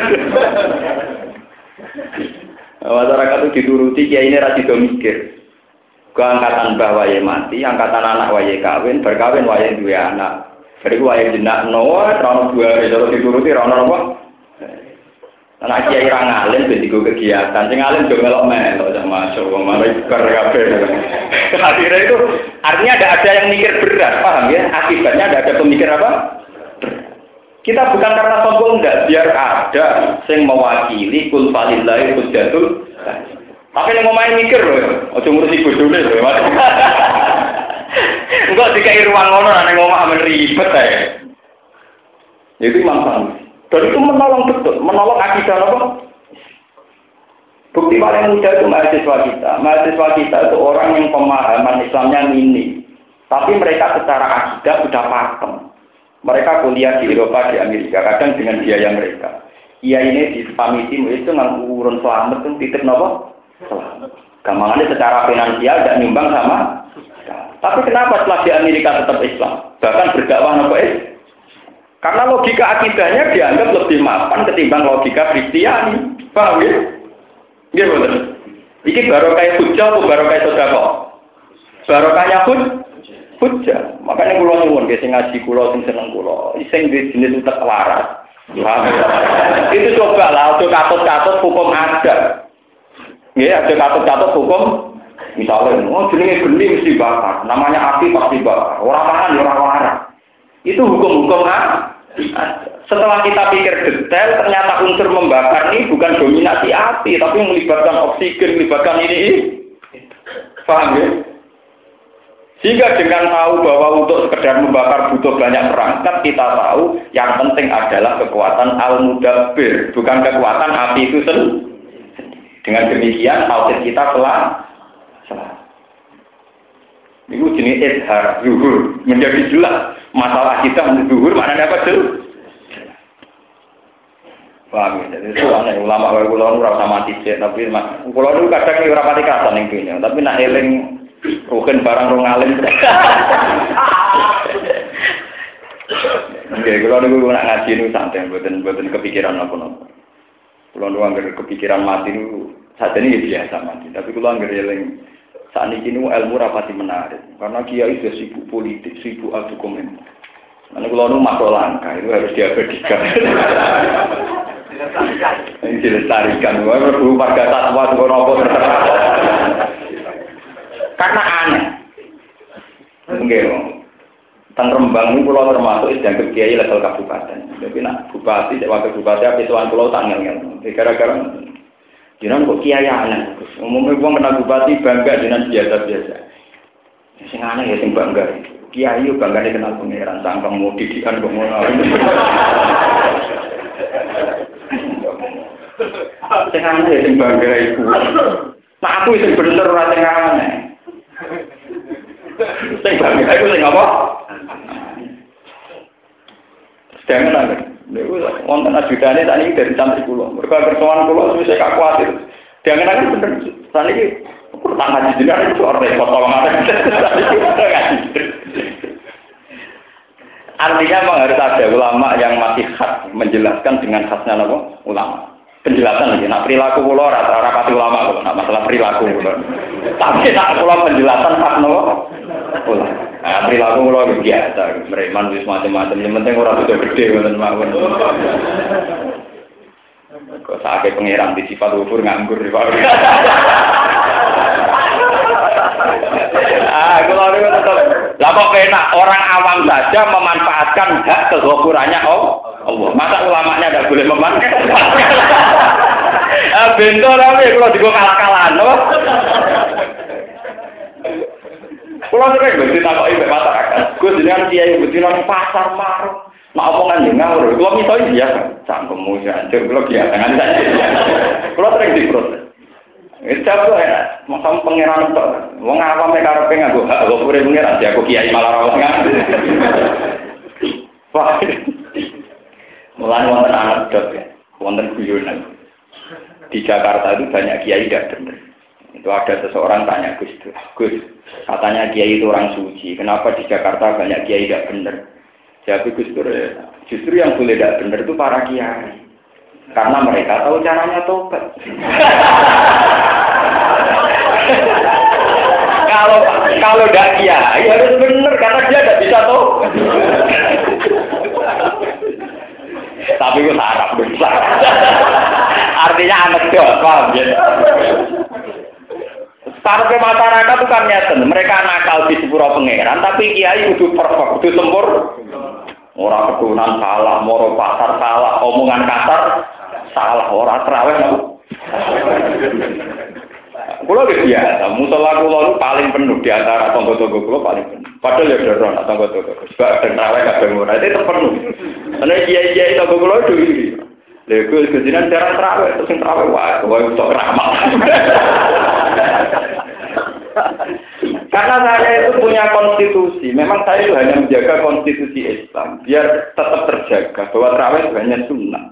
Masyarakat itu dituruti kiai ini rasi mikir. Keangkatan mbah wae mati, angkatan anak wae kawin, berkawin wae dua anak. Bariku wae jenak noa, terlalu dua kalau dituruti rano apa? Anak kiai ra ngalim ben digo kegiatan. Sing ngalim yo melok-melok sama masyaallah malah ikar kabeh. Akhirnya itu artinya ada yang mikir berat, paham ya? Akibatnya ada pemikir apa? Kita bukan karena sombong enggak, biar ada sing mewakili kul falillahi hujjatul. Tapi nek ngomongin mikir lho, aja ngurusi bodone lho. Enggak dikai ruang ngono nek ngomong amen ribet ae. Itu manfaat. Dan itu menolong betul, menolong akidah apa? Bukti paling mudah itu mahasiswa kita. Mahasiswa kita itu orang yang pemahaman Islamnya minim. Tapi mereka secara akidah sudah paham. Mereka kuliah di Eropa, di Amerika, kadang dengan biaya mereka. Iya ini di pamiti itu nggak urun selamat itu titip nopo. Gampangannya secara finansial tidak nyumbang sama. Tapi kenapa setelah di Amerika tetap Islam? Bahkan berdakwah nopo karena logika akidahnya dianggap lebih mapan ketimbang logika Kristiani. Paham ya? Iya betul. Iki barokah hujjah atau barokah sedekah? Barokahnya hujjah. Makanya kula nyuwun ge sing ngaji kula sing seneng kula, sing jenis utek waras. Itu coba lah, untuk katut-katut hukum ada. Ya, ada katut-katut hukum. Misalnya, jenenge geni mesti bakar, namanya api pasti bakar. Orang makan, orang waras. Itu hukum-hukum setelah kita pikir detail, ternyata unsur membakar ini bukan dominasi api, tapi melibatkan oksigen, melibatkan ini. Paham ya? Sehingga dengan tahu bahwa untuk sekedar membakar butuh banyak perangkat, kita tahu yang penting adalah kekuatan al-mudabbir, bukan kekuatan api itu sendiri. Dengan demikian, tauhid kita telah itu jenis izhar, zuhur, menjadi jelas. Masalah kita zuhur, maknanya apa tuh? Paham ya? Jadi itu aneh, ulama kulon ora mati sih, tapi kulon itu kadang ora pati kasan ning dunya, tapi nak eling rugen barang rong alim. Oke, kulon niku nak ngaji niku santai, mboten kepikiran apa-apa. Kulon niku anggere kepikiran mati niku sajane biasa mati, tapi kulon anggere eling saat ini ilmu rapati menarik, karena kiai sudah sibuk politik, sibuk adu komentar. Karena kalau masuk langkah itu harus diabadikan. Ini dilestarikan, berburu warga satwa itu nopo terserah. Karena aneh. Enggak, tentang Rembang ini pulau termasuk yang kiai level kabupaten. Jadi nak bupati, wakil bupati, habis tuan pulau tanggal kan. Gara-gara jangan kok kiai aneh. Umumnya gua kena bupati bangga dengan biasa-biasa. Sing aneh ya sing bangga. Kiai yo bangga kenal pangeran, sangkang mau didikan kok ngono. Sing aneh ya sing bangga iku. Nah aku sing bener ora sing aneh. Sing bangga iku sing apa? Jangan aneh. Niku wonten ajudane sakniki dari santri kula. Mergo kersoan kula wis gak kuwatir. Jangan bener sakniki kurang ngaji jenengan itu ora repot tolongan. Artinya memang harus ada ulama yang masih khas menjelaskan dengan khasnya apa? Ulama. Penjelasan lagi. Nah perilaku kula ora pati ulama kok, nah masalah perilaku kula. Tapi nak kula penjelasan khas napa? Ulama. Nah, perilaku kula biasa, mereman wis macam-macam, yang penting ora sudah gede ngoten mawon. Kok sakit pengiran di sifat ufur nganggur di Pak. Kula niku tetep lah kok penak orang awam saja memanfaatkan hak kegokurannya Allah. Masa ulamanya enggak boleh memanfaatkan? Bento tapi kula digo kalah-kalahan, apa? Kulo sering mesti takoki mbek masyarakat. Gus jenengan kiai betina nang pasar marung. Nek omongan yo ngawur. Kulo miso biasa. Cangkemmu jancur kulo biasa nganti saiki. Kulo sering diprotes. Wis cabut ya, mosok pangeran tok. Wong awam mek karepe nganggo hak kok urip pangeran aku kiai malah ora ngerti. Wah. Mulane wonten anekdot ya. Wonten guyonan. Di Jakarta itu banyak kiai tidak benar. Itu ada seseorang tanya Gus, katanya kiai itu orang suci. Kenapa di Jakarta banyak kiai tidak benar? Jadi Gus, justru yang boleh tidak benar itu para kiai. Karena mereka tahu caranya tobat. Kalau tidak kiai harus benar karena dia tidak bisa tobat. Tapi itu sarap besar. Artinya anekdot, paham ya? Sarapnya masyarakat itu kan nyeten, mereka nakal di sepuro pangeran, tapi kiai kudu perfect, kudu sempur. Orang kedunan salah, moro pasar salah, omongan kasar salah, orang terawih no. Kulo biasa, musola kulo paling penuh di antara tonggo-tonggo kulo paling penuh. Padahal ya doron tonggo-tonggo, sebab terawih kadang ora itu penuh. Karena kiai-kiai tonggo kulo itu. Lha kok kejinan jarang terawih, terus sing terawih wae kok ramah. Karena saya itu punya konstitusi, memang saya itu hanya menjaga konstitusi Islam, biar tetap terjaga bahwa terawih itu hanya sunnah.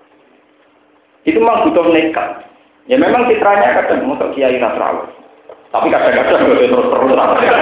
Itu memang butuh nekat. Ya memang fitrahnya kadang untuk kiai terawih. Tapi kadang-kadang gue terus-terus.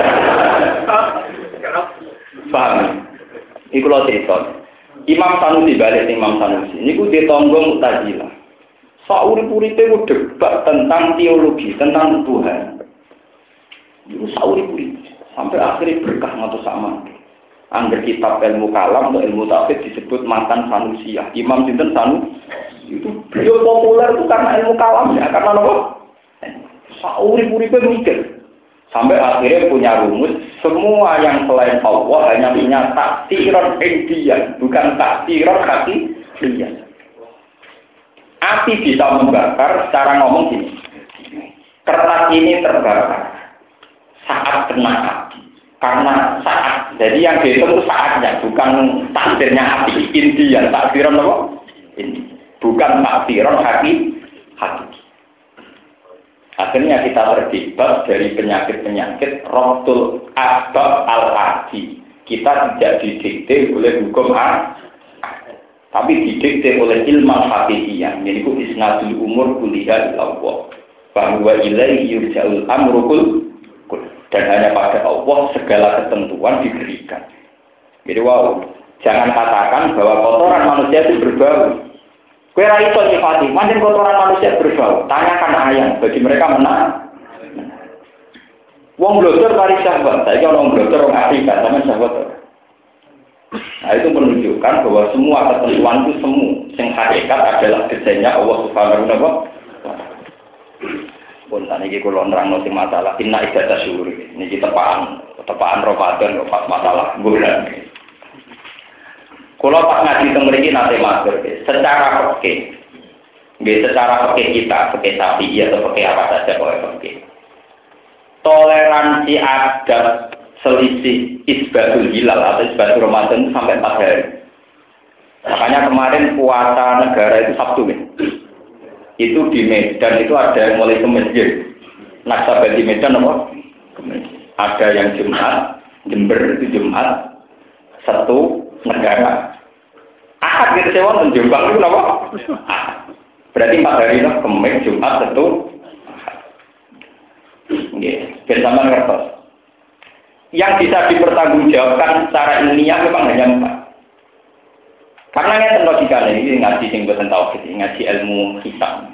Paham? Iku lo cerita. Imam Sanusi balik Imam Sanusi. Ini gue ditonggo Mu'tazilah. Sauri-uripe gue debat tentang teologi, tentang Tuhan. Itu sauri-uripe. Sampai akhirnya berkah ngatus sama. Angger kitab ilmu kalam atau ilmu tauhid disebut mantan Sanusiah. Imam Sinten Sanusi. Itu beliau populer itu karena ilmu kalam ya. Karena apa? Sauri-uripe mikir. Sampai akhirnya punya rumus, semua yang selain Allah hanya punya taksiran indian, bukan taksiran hakikiyah. Api bisa membakar, secara ngomong gini, kertas ini terbakar saat kena api. Karena saat, jadi yang dihitung itu saatnya, bukan takdirnya api, indian, taksiran apa? Ini, bukan taksiran hakikiyah. Akhirnya kita terbebas dari penyakit-penyakit Rabtul Asbab al-Adi. Kita tidak didikte oleh hukum tapi didikte oleh ilmu hakikiyah. Jadi itu isnadul umur kuliah Allah. Bahwa ilaihi yurja'ul amru kul. Dan hanya pada Allah segala ketentuan diberikan. Jadi wow, jangan katakan bahwa kotoran manusia itu berbau. Kowe ra iso nyifati, pancen kotoran manusia berbau. Tanyakan ayam, bagi mereka menang. Wong blodor mari sahabat, saiki ana wong blodor wong Afrika, sampeyan sahabat. Nah, itu menunjukkan bahwa semua ketentuan itu semu, sing hakikat adalah desainnya Allah Subhanahu wa taala. Pun saniki kula nerangno sing masalah inna ibadah syukur. Niki tepaan Ramadan kok pas masalah bulan. Kalau pas ngaji teng mriki nate matur, secara fikih. Nggih, secara fikih kita, fikih Syafi'i atau fikih apa saja boleh fikih. Toleransi adat selisih isbatul hilal atau isbatul Ramadan itu sampai 4 hari. Makanya kemarin puasa negara itu Sabtu kan. Itu di Medan itu ada yang mulai ke masjid. Nasabah di Medan apa? Ada yang Jumat, Jember itu Jumat, Sabtu negara. Ahad gitu sewa dan Jombang itu apa? Berarti 4 hari itu Kamis, Jumat, Sabtu. Nggih, bersama ngertos. Yang bisa dipertanggungjawabkan secara ilmiah memang hanya 4. Karena ngeten logikane iki ngaji sing boten tauhid, ngaji ilmu hisab.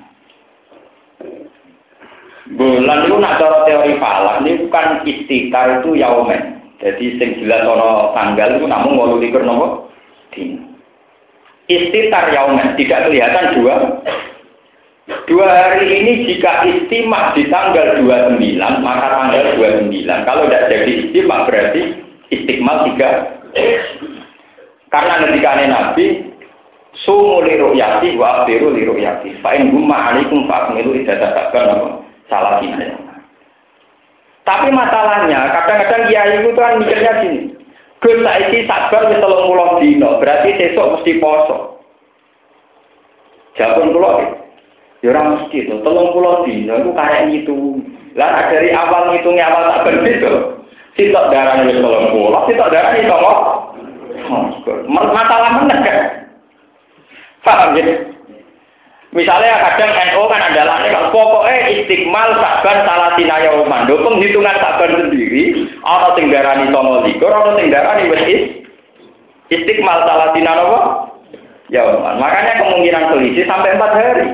Bulan itu nak cara teori falak ini bukan istiqar itu yaumen. Jadi sing jelas ana tanggal itu namun 28 napa? Dina. Istiqar yaumen tidak kelihatan 2 hari ini jika istimak di tanggal 29 maka tanggal 29. Kalau tidak jadi istimak berarti istiqmal 3. Karena ketika Nabi sumu li ru'yati wa afiru li ru'yati fa in gumma alaikum fa akmilu iddatakum salah ini. Tapi masalahnya kadang-kadang kiai itu kan mikirnya gini. Gus saiki sabar wis 30 dina, berarti sesuk mesti poso. Jawabun kula ya ora mesti to, 30 dina iku karek itu. Lah dari awal ngitungnya awal tak ben itu. Sitok darane wis 30, sitok darane iso kok. Masalah meneh kan. Paham ya? Misalnya kadang NU kan adalah pokoknya istiqmal Sa'ban salatina yauman. Do penghitungan Sa'ban sendiri ana sing darani 29, ana sing darani wis istiqmal salatina napa? Yauman. Makanya kemungkinan selisih sampai 4 hari.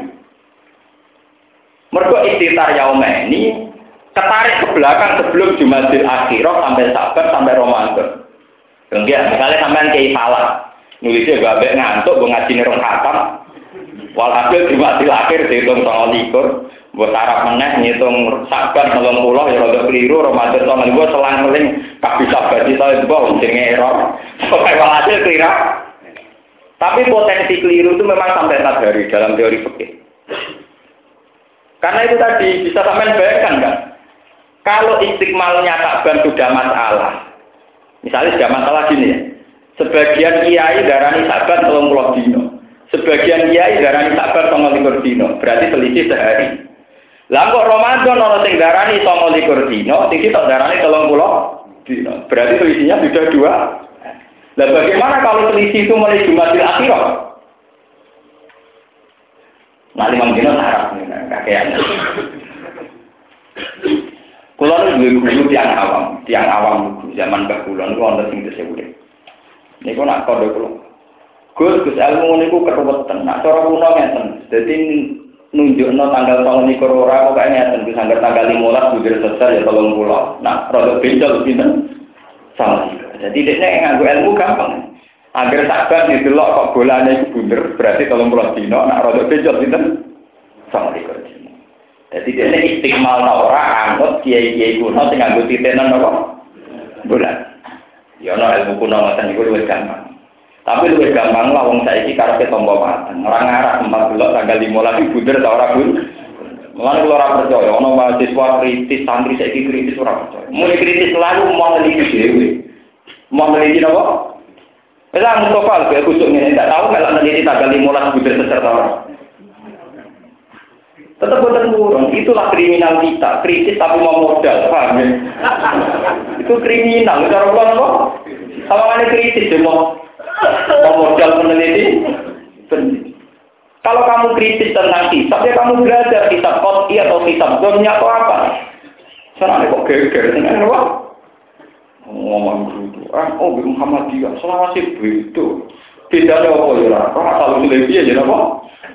Mergo istitar yauman ini ketarik ke belakang sebelum Jumadil Akhirah sampai Sa'ban sampai Ramadan. Enggak, misalnya sampean kiai salah. Nulisnya babek ngantuk ngajine rong khatam. Walhasil Jumadil Akhir dihitung 29, buat sarap meneh ngitung Sa'ban 30 ya rada keliru, Ramadan 29 selang-seling kabeh sabar kita mbok jenenge error. Pokoke walhasil keliru. Tapi potensi keliru itu memang sampai 4 hari dalam teori fikih. Karena itu tadi bisa sampean bayangkan kan? Kalau istiqmalnya Sa'ban sudah masalah. Misalnya sudah masalah gini ya. Sebagian kiai darani Sa'ban 30 dino. Sebagian kiai darani Sa'ban 29 dino, berarti selisih sehari. Lah kok Ramadan ana sing darani 29 dino, sing sitok darani 30 dino. Berarti selisihnya sudah 2. Lah bagaimana kalau selisih itu mulai Jumadil Akhirah? Nah 5 dino sarap kakean. guru tiang awam zaman Mbah kula niku wonten sing tesih urip. Niku nak kode kula. Gus ilmu niku keruwetan. Nak cara kuno ngeten. Dadi nunjukno tanggal tahun niku ora kok ngeten Gus anggar tanggal 15 budir sesar ya 30. Nah, rada beda pinten? Sama. Jadi dekne nganggo ilmu gampang. Angger sabar didelok kok bolane iku bunder berarti 30 dina nak rada beda pinten? Sama dina. Jadi dekne istiqmal ta ora anut kiai-kiai kuno sing nganggo titenan apa? Bulan. Ya ana ilmu kuno ngoten niku luwih gampang. Tapi luwih gampang lah wong saiki karepe tampa mateng. Ora ngarah 14 tanggal 15 bunder ta ora bun. Mulane kula ora percaya ana mahasiswa kritis santri saiki kritis ora percaya. Mulai kritis lalu mau neliti dhewe. Mau neliti apa? Wis Mustafa kaya kusuk ngene ndak tahu kalau neliti tanggal 15 bunder seser ta ora. Tetap boten murung, itulah kriminal kita, kritis tapi mau modal, paham ya? Itu kriminal, cara kula napa? Sawangane kritis ya mau modal peneliti. Kalau kamu kritis tentang hisab, ya kamu belajar hisab qot'i atau hisab dzannya atau apa. Senane kok geger dengan apa? Ngomong gitu. Oh, Muhammadiyah, selawase bedo. Bedane apa ya? Ora asal usul piye ya napa?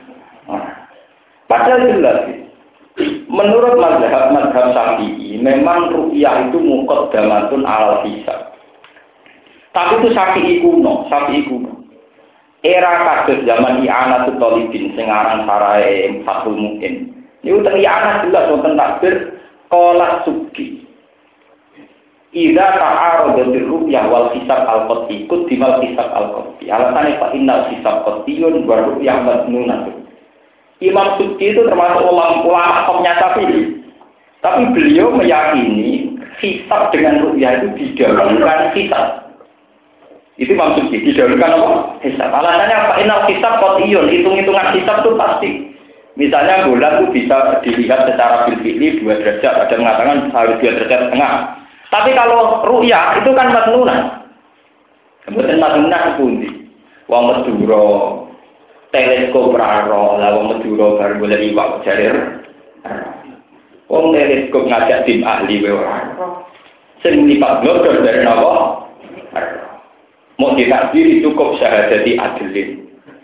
Padahal jelas. Menurut mazhab Syafi'i, memang ru'yah itu muqaddamatun alal hisab. Tapi itu Syafi'i kuno. Era kados zaman I'anatul Thalibin sing aran sarae Fathul Mu'in. Niku teng I'anah jelas wonten takbir qala suki. Idza ta'aradatir ru'yah wal hisab al-qat'i kudimal hisab al-qat'i. Alasane fa innal hisab qat'iyun wa ru'yah madnunatun. Imam Subki itu termasuk ulama topnya Syafi'i. Tapi beliau meyakini hisab dengan ru'yah itu didahulukan hisab. Itu Imam Subki, didahulukan apa? Hisab. Alasannya apa? Inal hisab qat'iyun, hitung-hitungan hisab itu pasti. Misalnya bulan itu bisa dilihat secara bil-fi'li 2 derajat, ada mengatakan harus 2 derajat setengah. Tapi kalau ru'yah itu kan madnunan. Kemudian madnunan sepundi. Wong Madura teleskop raro, lah wong Madura baru boleh iwak jarir. Wong teleskop ngajak tim ahli wae ora. Sing lipat glodor dari napa? Mau ditakdiri cukup syahadati adilin.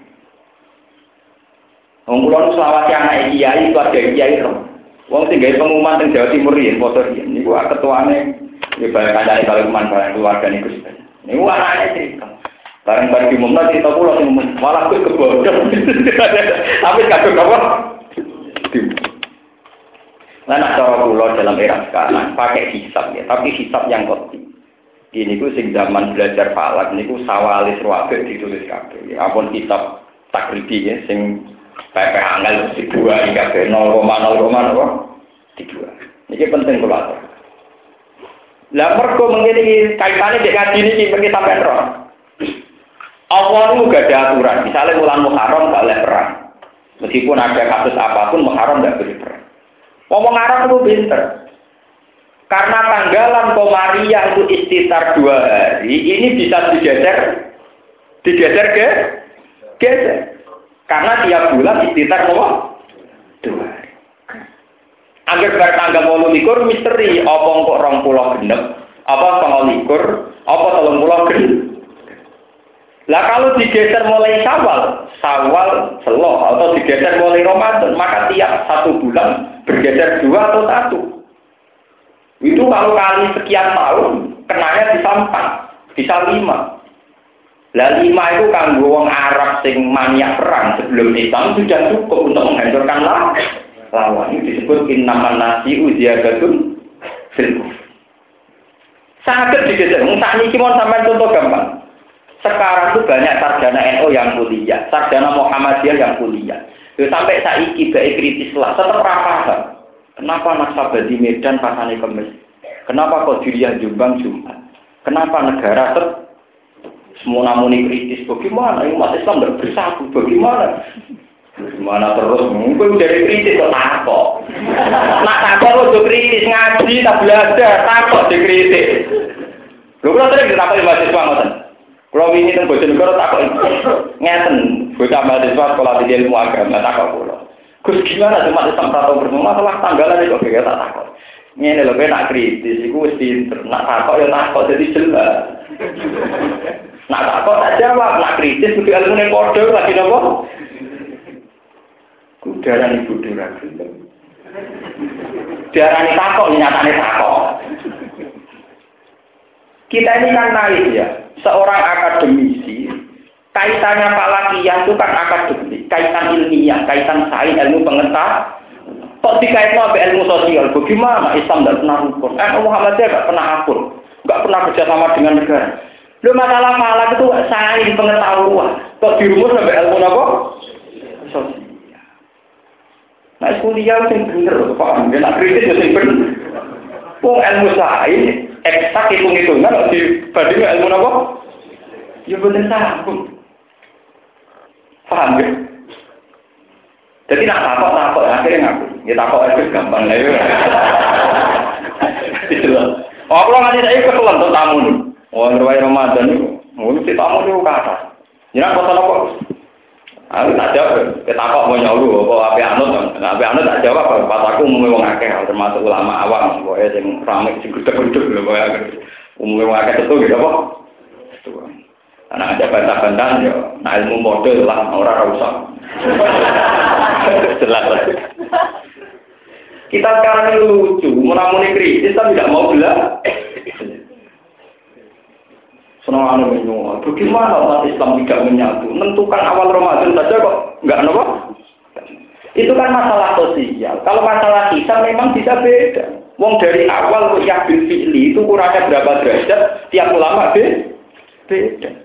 Wong kula selawase anak kiai keluarga kiai ro. Wong sing gawe pengumuman teng Jawa Timur yen foto yen niku ketuane ya bae kancane kalau manfaat keluarga niku. Niku anake cerita. Bareng-bareng diumumna cerita kula sing malah kuwi kebodhon. Tapi kadung apa? Nah, cara kula dalam era sekarang pakai hisab ya, tapi hisab yang qot'i. Ini ku sing zaman belajar falak niku sawalis ruwabek ditulis kabeh. Ya ampun hisab takribi ya sing PP angel dua kabeh 0,0 apa? Dua. Iki penting kula. Lah mergo mengene kaitane dek ngaji niki mriki sampean ro. Allah itu gak ada aturan. Misalnya bulan Muharram gak boleh perang. Meskipun ada kasus apapun, Muharram gak boleh perang. Ngomong Arab itu pinter. Karena tanggalan Komariah itu istitar 2 hari, ini bisa digeser geser. Karena tiap bulan istitar 2 hari. Angger bar tanggal 28 misteri, apa kok 20 genep, apa 29, apa 30 genep. Lah kalau digeser mulai Syawal Seloh atau digeser mulai Ramadan, maka tiap 1 bulan bergeser 2 atau 1. Itu kalau kali sekian tahun, kenanya bisa 4, bisa 5. Lah 5 itu kanggo wong Arab sing maniak perang sebelum Islam sudah cukup untuk menghancurkan lawan. Itu disebut innaman nasi'u ziyadatun fil kufr. Sangat digeser. Sak niki mon sampean contoh gampang. Sekarang itu banyak sarjana NU yang kuliah, sarjana Muhammadiyah yang kuliah. Ya, sampai saiki bae kritis lah, tetap paham. Kenapa Naksabandi Medan pasane Kemis? Kenapa Qadiriyah Jombang Jumat? Kenapa negara semua namuni kritis? Bagaimana umat Islam tidak bersatu? Bagaimana? Gimana terus? Mungkin dari kritis kok takut. Nak takut lo kritis ngaji tak belajar takut dikritis. Lho kula sering ditakoki mahasiswa ngoten. Kalau ini tentang Bojonegoro takut ngeten, bocah mahasiswa sekolah di ilmu agama takut pulau. Gus gimana cuma Islam tahu bersama masalah tanggalan itu kayak tak takut. Ngene lho nak kritis iku wis pinter. Nak takok ya takok dadi jelas. Nak takok tak jawab, nak kritis kudu ilmune padha lagi napa? Kudarane bodho ra gelem. Diarani takok nyatane takok. Kita ini kan naif ya, seorang akademisi, kaitannya falakiyah itu kan akademik, kaitan ilmiah, kaitan sains, ilmu pengetahuan. Kok dikaitkan sama ilmu sosial? Bagaimana Islam tidak pernah rukun? Muhammadiyah tidak pernah akur, nggak pernah kerjasama dengan negara. Lu masalah falak itu sains pengetahuan. Kok dirumus sampai ilmu apa? Sosial. Nah, kuliah itu bener, paham? Nak kritis itu bener. Ilmu sains eksak hitung-hitungan kalau dibandingkan ilmu apa? Ya bener sambung. Paham ya? Jadi nak takut akhirnya ngaku. Ya takut itu gampang lah ya. Itulah. Oh, kalau nggak ada keselan tuh tamu nih. Oh, riwayat Ramadan itu, mesti tamu itu kata. Jangan pesan apa? Aku tak jawab. Kita kok mau nyuruh apa anut tak jawab. Pas aku umumnya wong akeh, termasuk ulama awam. Pokoknya yang ramai sing gudeg-gudeg lho. Umumnya wong akeh itu gitu apa? Karena ada bantah-bantahan ya, nah ilmu model lah, orang rusak. Jelas lah. Kita sekarang ini lucu, menamuni kritis, tapi tidak mau belah. Senang anu menyuap. Bagaimana umat Islam tidak menyatu? Menentukan awal Ramadan saja kok nggak apa? Itu kan masalah sosial. Kalau masalah kisah memang bisa beda. Wong dari awal yang bil fi'li itu kurangnya berapa derajat? Tiap ulama beda.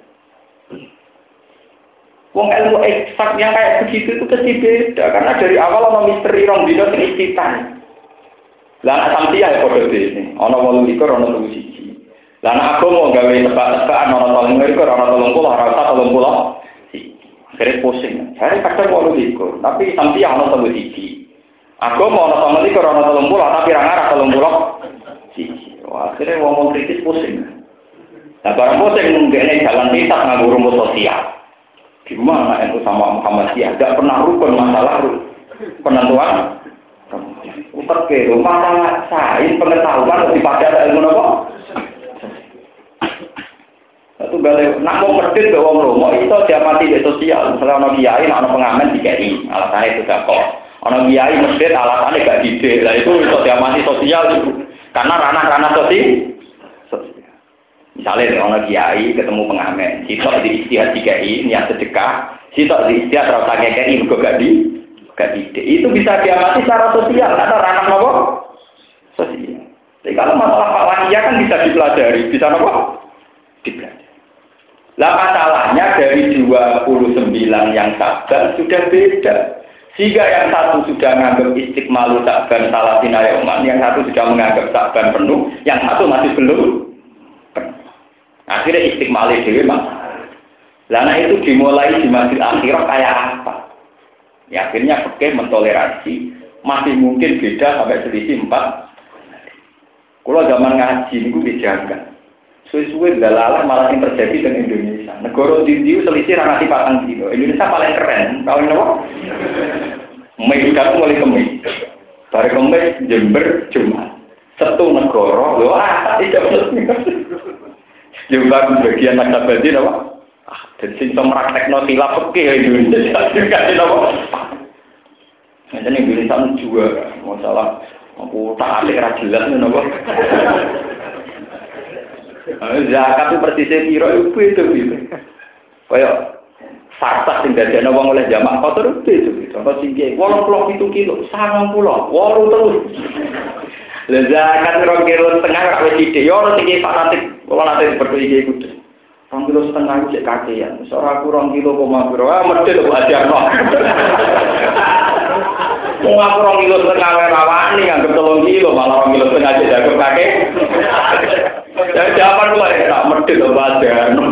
Wong ilmu eksak yang kayak begitu itu pasti beda karena dari awal ono misteri rong dino sing istitan. Lah sampeyan ya padha dene. Ono 28 ono 31. Lah nek aku mau gawe tebak-tebakan ono 30 ono 30 ora usah 30. Akhirnya pusing. Hari kadang 28, tapi sampeyan ono 31. Aku mau ono 30 ono 30 tapi ra ngarah 30. Wah, akhirnya wong kritis pusing. Nah, barang pusing mungkin jalan pintas nganggo rumus sosial. Gimana itu sama Muhammadiyah? Tidak pernah rukun masalah penentuan. Utak ke masalah sains pengetahuan dipakai ada ilmu apa? Itu balik. Nak mau kredit ke wong romo itu dia mati di sosial. Misalnya ono kiai, ono pengamen di KI, alasannya itu gak kok. Ono kiai masjid alasannya gak didik. Lah itu dia mati sosial itu. Karena ranah-ranah sosial. Misalnya orang kiai ketemu pengamen, sitok di istihad di KI niat sedekah, sitok di istihad rasa KI juga gak ide. Itu bisa diamati secara sosial, karena ranah apa? Sosial. Jadi kalau masalah falakiyah kan bisa dipelajari, bisa apa? Dipelajari. Lah masalahnya dari 29 yang sabar sudah beda. Jika yang satu sudah menganggap istiqmalu saban salatina yauman, yang satu sudah menganggap saban penuh, yang satu masih belum. Akhirnya istiqmali dewi masalah. Lana itu dimulai di masjid akhirah kayak apa? Ya akhirnya pakai mentoleransi masih mungkin beda sampai selisih 4. Kalau zaman ngaji itu dijaga. Suwe-suwe dalalah malah yang terjadi dengan Indonesia. Negara India selisih ranati 4 kilo. Indonesia paling keren. Tahu apa? Medan mulai Kemis. Dari Kemis Jember Jumat. Satu negara. Wah tidak betul. Juga bagian nakabadi apa? Dan sing praktekno khilaf fikih Indonesia juga apa? Jadi Indonesia juga masalah aku tak alik ra jelas napa. Zakat itu persisnya piro itu. Kayak fakta sing dadekno wong oleh jamak kotor itu. Contoh sing 87 kilo, 90, 8 terus. Lah zakat 2,5 kilo ra wis sithik yo ora sing fanatik. Kalau nanti seperti ini ikut, 2,5 kilo cek kakean. Seorang aku 2 kilo koma biro, mesti lo ajar no. Mau aku 2,5 kilo rawani, anggap 3 kilo, malah 2,5 kilo aja jago kakek. Jadi jawaban lu tak mesti lo ajar no.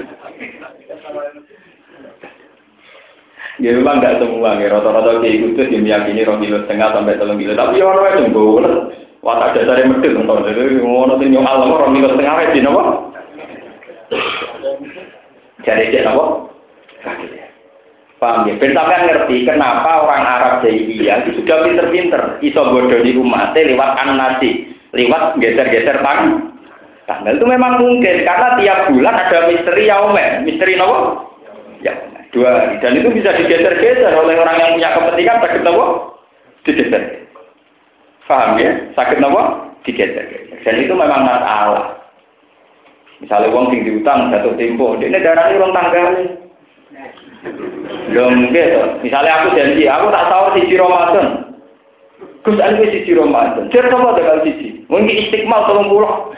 Ya memang nggak semua, ya rata-rata kayak gitu sih meyakini 2,5 kilo sampai 3 kilo. Tapi orang itu boleh. Watak dasarnya medit untuk jadi ngono sing nyual nomor 2,5 kilo di napa? Jadi cek napa? Paham ya? Ben sampean ngerti kenapa orang Arab jahiliyah itu sudah pinter-pinter iso bodoni umatnya lewat anasi, lewat geser-geser tanggal itu memang mungkin karena tiap bulan ada misteri yaumen, misteri nopo? Ya, 2 hari dan itu bisa digeser-geser oleh orang yang punya kepentingan sakit nopo? Digeser. Paham ya? Sakit nopo? Digeser-geser. Dan itu memang masalah. Misalnya wong sing diutang jatuh tempo, ini darahnya urung tanggal. Lho mungkin to. Misalnya aku janji, aku tak tahu siji Ramadan. Gus aku siji Ramadan. Jar apa tanggal siji? Mungkin istiqmal 30.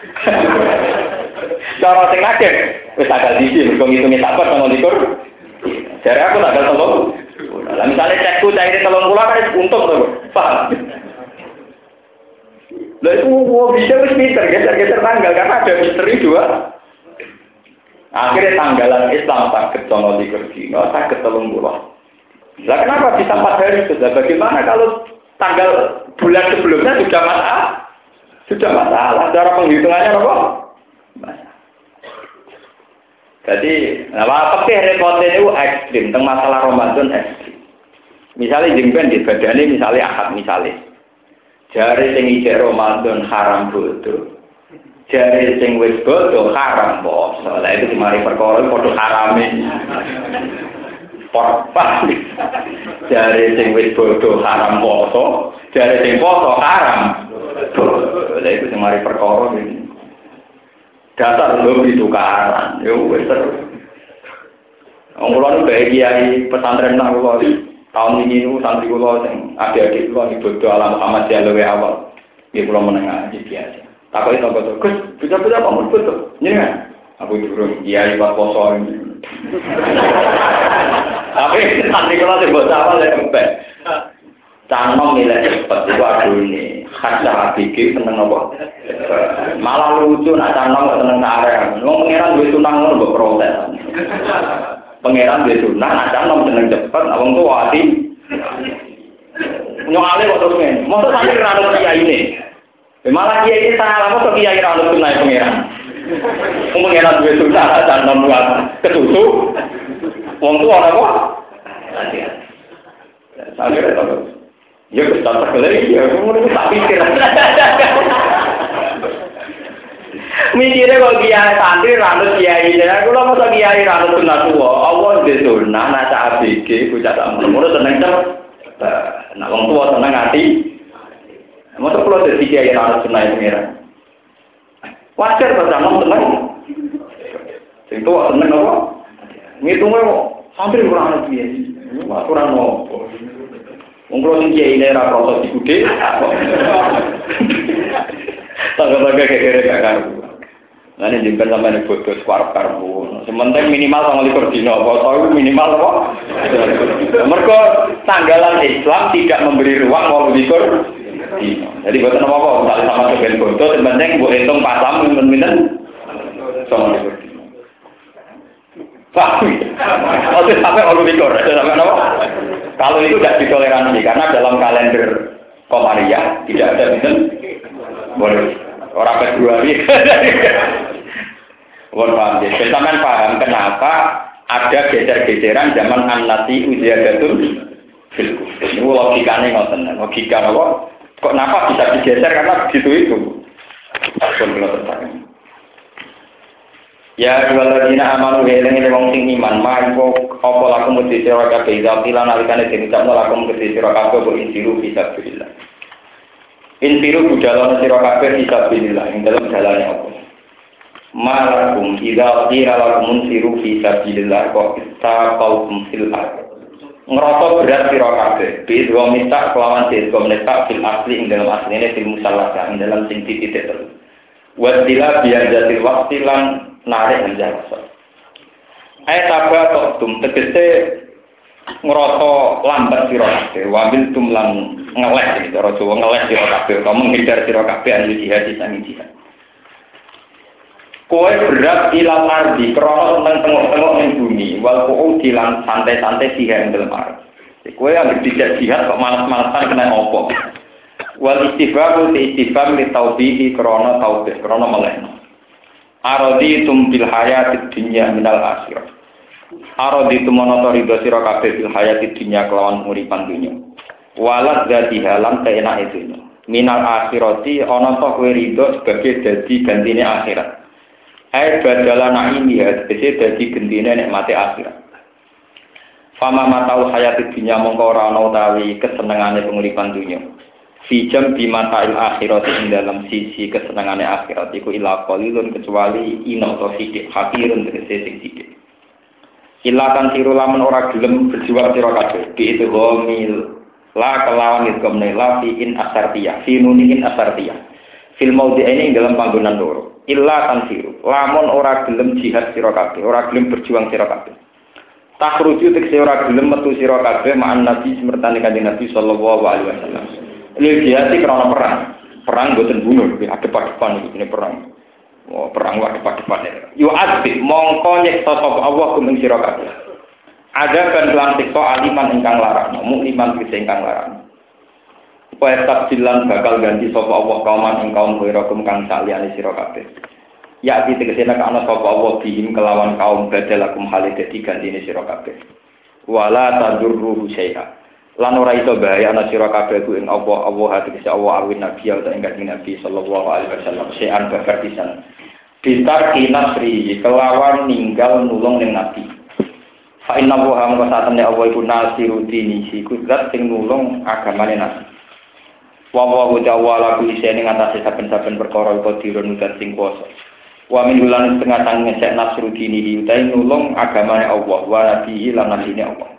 Cara sing akeh wis tanggal siji, mergo ngitunge sabar tanggal 30. Jare aku tanggal 30. Lah misalnya cekku caire 30 kan untung to, paham? Lah itu bisa wis pinter geser-geser tanggal karena ada misteri 2. Akhirnya tanggalan Islam sakit sama di Dino, sakit 30. Lah kenapa bisa 4 hari sudah? Bagaimana kalau tanggal bulan sebelumnya sudah masalah? Sudah masalah. Cara penghitungannya apa? Masalah. Jadi, apa repotnya itu ekstrim. Tentang masalah Ramadan ekstrim. Misalnya jengben di badannya, misalnya akad misalnya. Jari sing ijek Ramadan haram bodoh. Jari sing wis bodoh haram poso. Lah itu dimari perkara padha harame. Porpa. Jari sing wis bodoh haram poso, jari sing poso haram. Lah itu dimari perkara iki. Dasar lobi tukaran. Yo wis terus. Wong kula nu bae kiai pesantren nang kula tahun ini niku santri kula sing adik-adik kula ibadah alam Muhammad luwe awal. Nggih kula menengah iki biasa. Takut itu betul, Gus, bisa-bisa kamu betul, ya? Aku turun, iya lewat poso ini. Tapi nanti kalau sebut apa saya kembali. Canong nilai cepat itu aduh ini, khas habiki seneng apa? Malah lucu, nak canong nggak seneng area. Ngomong pangeran gue tunang nggak protes. Pangeran gue tunang, nak canong seneng cepat, abang tuh hati. Nyokale kok terus men, masa sampai rano dia ini. Malah dia ini salah apa dia kira harus tunai pangeran. Pangeran duwe susah dan membuat ketutup. Wong tua ana apa? Sampai itu. Ya kita terkelai ya, kemudian tak pikir. Mikirnya kok kiai santri ranut kiai ya, kula masa kiai ranut sunah tua. Allah di sunah nasa ABG bocah tak ngono seneng cepet. Nah wong tua seneng ati. Masa kalau ada tiga yang harus senai pengiran, wajar bersama senang. Itu senang apa? Ngitungnya kok hampir kurang lebih ya. Kurang mau. Mungkin tiga ini era proses di kude. Tangga-tangga kayak gak karu. Nanti jempen sampai nih bodoh sekuarap karbu. Sementara minimal sama likur dino. Kalau minimal apa? Mereka tanggalan Islam tidak memberi ruang walau likur. Jadi buat apa? Misalnya sama sebagian bodoh, sebenarnya buat hitung pasam, minum-minum, sama itu. Paham? Sampai orang pikir, sampai apa? Kalau itu tidak ditoleransi, karena dalam kalender Komariah tidak ada minum, boleh. Orang Februari. Mohon paham ya. Sampai paham kenapa ada geser-geseran zaman An-Nasi Uziyadatun Filku. Ini logikanya ngoten. Logika apa? Kok kenapa bisa digeser karena begitu itu? Ya waladina amanu heleng wong sing iman, mangko apa laku mesti sira kabeh zakilan nalikane diucapno laku mesti sira kabeh bo insiru fisabilillah. Insiru budalana sira kabeh fisabilillah ing dalem dalane apa? Malakum idza qila lakum insiru fisabilillah kok istaqaltum fil ardh. Ngerasa berat sira kabeh bis wa minta kelawan diskom netak fil asli ing dalam asline fil musallasa ing dalam sing titik terus wa tila biar jatil waqti lan narik menjasa ayat apa tum tegese ngerasa lambat sira kabeh wa bil tum lan ngeleh iki cara Jawa ngeleh sira kabeh utawa menghindar sira kabeh an jihad sang jihad. Kowe berat ilang ardi, krono tengok-tengok ning bumi, wal kau dilang santai-santai sihan dalam ardi. Kowe yang tidak jihad kok malas-malasan kena opo. Wal istifham li taubihi krono taubih, krono melehno. Aradi tum bil hayatid dunya minal akhirah. Aradi tumono ridho sira kabeh fil hayati dunya kelawan uripan dunya. Walat dadi halam keenake dunya. Minal akhirati ana ta kowe ridho sebagai dadi gantine akhirat. Ai badala naimi ya tegese dadi gentine nikmate akhirat. Fama matau hayati dunya mongko ora ana utawi kesenengane penguripan dunya. Fijam bimata'il akhirat ing dalam sisi kesenangane akhirat iku ila qalilun kecuali ina to sithik hakirun tegese sing sithik. Ilatan siru lamun ora gelem berjuang sira kabeh bi itu gomil la kelawan idgomne la fi in asartiyah fi nunin asartiyah fil maudhi ini dalam panggonan loro ilatan siru lamun ora gelem jihad sira kabeh ora gelem berjuang sira kabeh takhruju tekse ora gelem metu sira kabeh ma'an nabi semertane kanjeng nabi sallallahu alaihi wasallam lil jihad krana perang boten bunuh adep-adepan iki perang. Oh, perang wae depan-depan. Yo asbi mongko nyeksa sapa Allah kumeng sira kabeh. Ada kan lan siksa aliman ingkang larang, mukliman ingkang larang. Supaya tabdilan bakal ganti sapa Allah kauman ing kaum wirakum kang saliyane sira kabeh. Ya tegese nek ana sapa Allah bihim kelawan kaum badalakum hale dadi gantine sira kabeh. Wala tadurruhu syai'a. Lan ora iso bahaya ana sira kabeh ku ing Allah tegese Allah awin nabi ya ing Nabi sallallahu alaihi wasallam syai'an bakar pisan. Bitar kinasri kelawan ninggal nulung ning nabi. Fa inna wa hamka satane Allah iku nasiru dini iku zat sing nulung agamane nabi. Wa wa ta'ala ku isine ngatasi saben-saben perkara iku dirun zat sing kuwasa. Wa min ulan setengah tang ngecek nasru dini utai nulung agamane Allah wa nabihi lan nabine Allah.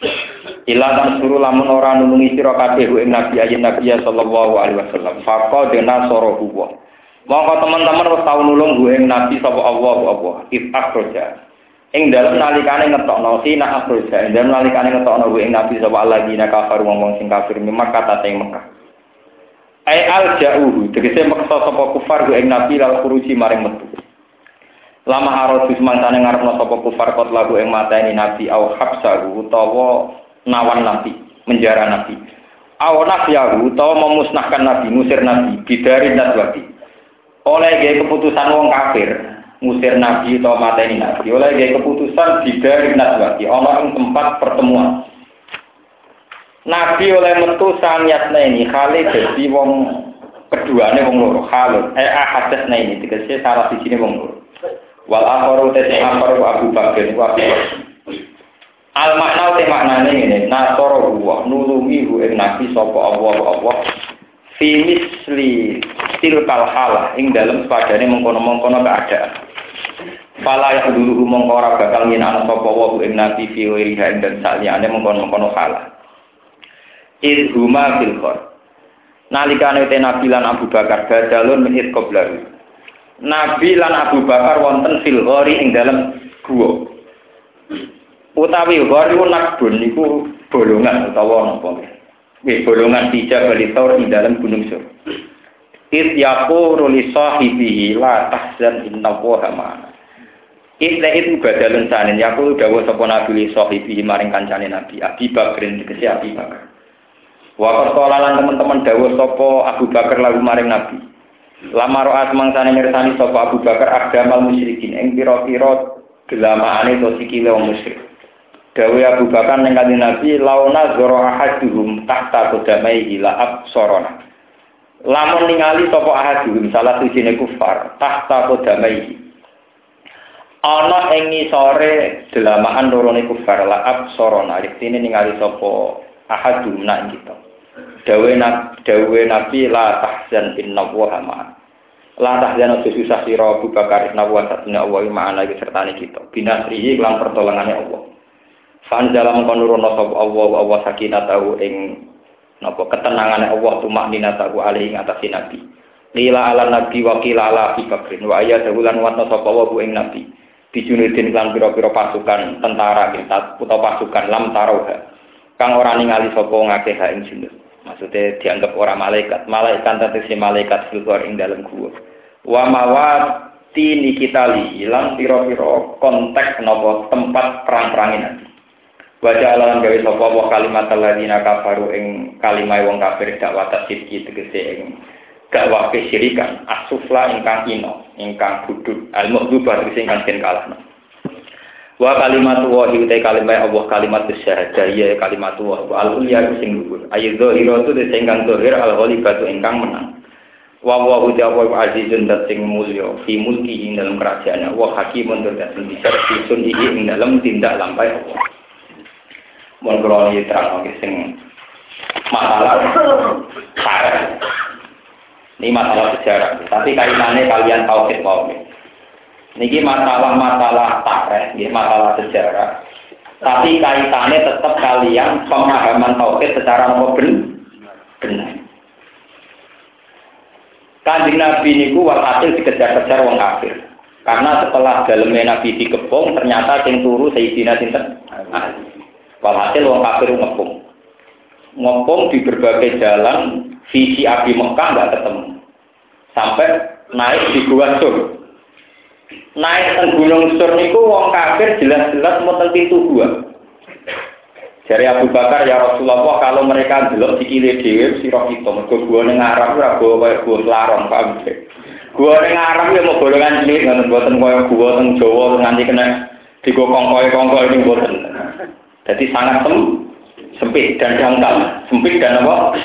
Ila tan suruh lamun ora nulungi sira kabeh ing nabi ayin nabi sallallahu alaihi wasallam. Faqa dena sorohu wa. Monggo teman-teman wis tau nulung ing nabi sapa Allah. If akhroja. Ing dalem nalikane ngetokno sina akhroja. Ing dalem nalikane ngetokno ing nabi sapa Allah dina kafir wong sing kafir Mekah ta ing Mekah. Ai alja'uhu tegese maksa sapa kufar ing nabi lal khuruji maring metu. Lama harus mangkane ngarepno sapa kufar kot lagu ing mateni nabi au habsahu utawa nawan nabi, menjara nabi. Au nafyahu utawa memusnahkan nabi, ngusir nabi bidari nadwati. Oleh gaya keputusan wong kafir, ngusir nabi utawa mateni nabi. Oleh gaya keputusan bidari nadwati, ana ing tempat pertemuan. Nabi oleh metu sangyatna ini khali dadi wong keduane wong loro khalun. Ahadasna ini tegese salah sijine wong loro. Wal akharu tete akharu Abu Bakar wa al makna te maknane ngene nasara wa nulungi ing nabi sapa Allah fi misli tilkal halah ing dalem padane mengkono-mengkono keadaan fala ya dulu mongko ora bakal yen ana sapa wa ing nabi fi wiriha dan saliyane mengkono-mengkono halah idhuma fil qor nalikane te nabi lan Abu Bakar badalun min qablahu Nabi lan Abu Bakar wonten fil ghori ing dalem guwa. Utawi ghori nakbun niku bolongan utawa napa. Nggih bolongan dijak bali taur ing dalem gunung Sur. It yaqulu li sahibihi la tahzan innallaha ma'ana. Itu badalun sanen yaqulu dawuh sapa Nabi li sahibihi maring kancane Nabi Abi Bakrin tegese Abi Bakar. Wa qala teman-teman dawuh sapa Abu Bakar lalu maring Nabi. Lama ro'at mangsane mirsani sapa Abu Bakar agdamal musyrikin ing pira-pira gelamaane to sikile wong musyrik. Dawe Abu Bakar ning kanjeng Nabi launa zara ahaduhum tahta qadamai ila absarana. Lamun ningali sapa ahaduhum salah sijine kufar tahta qadamai. Ana ing ngisore delamaan lorone kufar la absarana artine ningali sapa ahadum nak kita. Dawe Nabi la tahzan innallaha ma'ana. La tahzan ojo susah sira Abu Bakar innallaha satuna Allah ma'ana iki sertane kita. Binasrihi lan pertolongane Allah. Fanzala mongko nurono sapa Allah sakinatahu ing napa ketenangane Allah tumakninatahu alaihi ngatasi Nabi. Lila ala Nabi wa qila ala Abi Bakrin wa ayatahu lan watna sapa wa ing Nabi. Bijunudin lan pira-pira pasukan tentara kita utawa pasukan lam taroha. Kang ora ningali sapa ngakeh ing junud. Maksudnya dianggap orang malaikat tegese malaikat filgor ing dalam gua. Wa mawati nikitali ilang pira-pira konteks napa tempat perang-perangin nanti. Baca alam gawe sapa wa kalimat alladzina kafaru ing kalimah wong kafir dakwah tasydiki tegese ing dakwah kesyirikan asufla ingkang ino ingkang budut al-mughdubah tegese ingkang den kalahna. Wa kalimatu wa utai kalimat Allah kalimat syahadah ya kalimatu wa al-ulya sing dhuwur. Ayo zahiratu sing kang zahir al-ghalibatu ingkang menang. Wa wa utai Allah azizun dat sing mulya fi mulki dalam kerajaannya wa hakimun dat sing bisa disun iki ing dalam tindak lampai Allah. Mun kula terang sing masalah sejarah. Ini masalah sejarah, tapi kaitannya kalian tauhid wae. Niki masalah-masalah tarikh, masalah sejarah. Tapi kaitannya tetap kalian pemahaman tauhid secara benar. Kanjeng Nabi niku walhasil dikejar-kejar wong kafir. Karena setelah daleme Nabi dikepung ternyata sing turu Sayyidina sinten? Walhasil wong kafir ngepung di berbagai jalan, visi Abi Mekah nggak ketemu. Sampai naik di Gua Sur. Naik ke Gunung Sur niku wong kafir jelas-jelas mau pintu gua. Jari Abu Bakar ya Rasulullah kalau mereka delok sikile dhewe sira kita mergo gua ning Arab ora kaya gua Selarong paham. Gua ning Arab ya mau golongan cilik ngoten mboten kaya gua teng Jawa nganti kena digokong kongko ini mboten. Jadi sangat sempit dan dangkal. Sempit dan apa?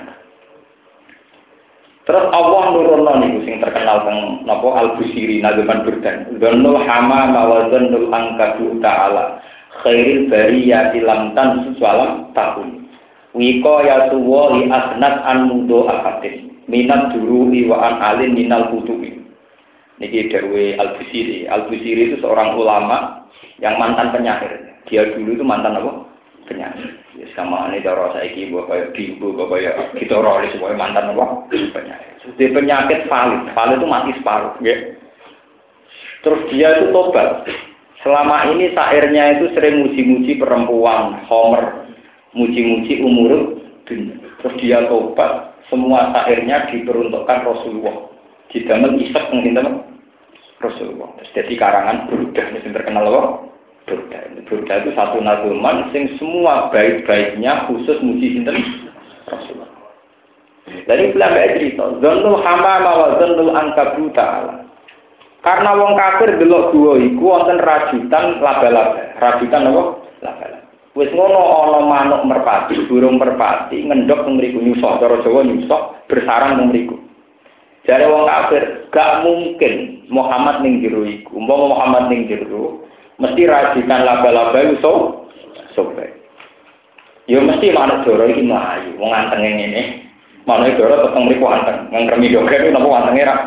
Terus Allah nurunna niku sing terkenal teng napa Al-Busiri Nazaman Burdan. Dzannul hamama wa dzannul angkabu ta'ala khairil bariyati lam tan suwalam tahun. Wiqayatu wa li asnat an mudo akatin minat duru'i wa an alin minal kutubi. Niki dawuhe Al-Busiri. Al-Busiri itu seorang ulama yang mantan penyair. Dia dulu itu mantan apa? Penyair. Ya sama ini cara saiki mbok kaya bimbo kaya gitaris semua mantan apa? Penyair. Jadi penyakit valid itu mati separuh, nggih. Terus dia itu tobat. Selama ini syairnya itu sering muji-muji perempuan, Homer, muji-muji umur dunia. Terus dia tobat, semua syairnya diperuntukkan Rasulullah. Didamel isek ngene Rasulullah. Terus jadi karangan Burdah yang terkenal apa? Burdah itu satu nazuman sing semua baik-baiknya khusus muji sinten Rasulullah. Dari belakang cerita, dzannul hamama wa dzannul angkabu ta'ala. Karena wong kafir delok gua iku wonten rajutan laba-laba. Rajutan apa? Laba-laba. Wis ngono ana manuk merpati, burung merpati ngendhok teng mriku nyusok, cara Jawa nyusok bersarang teng mriku. Jare wong kafir, gak mungkin Muhammad ning jero iku. Umpama Muhammad ning jero, mesti rajutan laba-laba iso sobek. Ya mesti manuk doro iki mlayu, wong antenge ngene. Manuk doro teteng mriku anteng, ngremi doger napa antenge ra.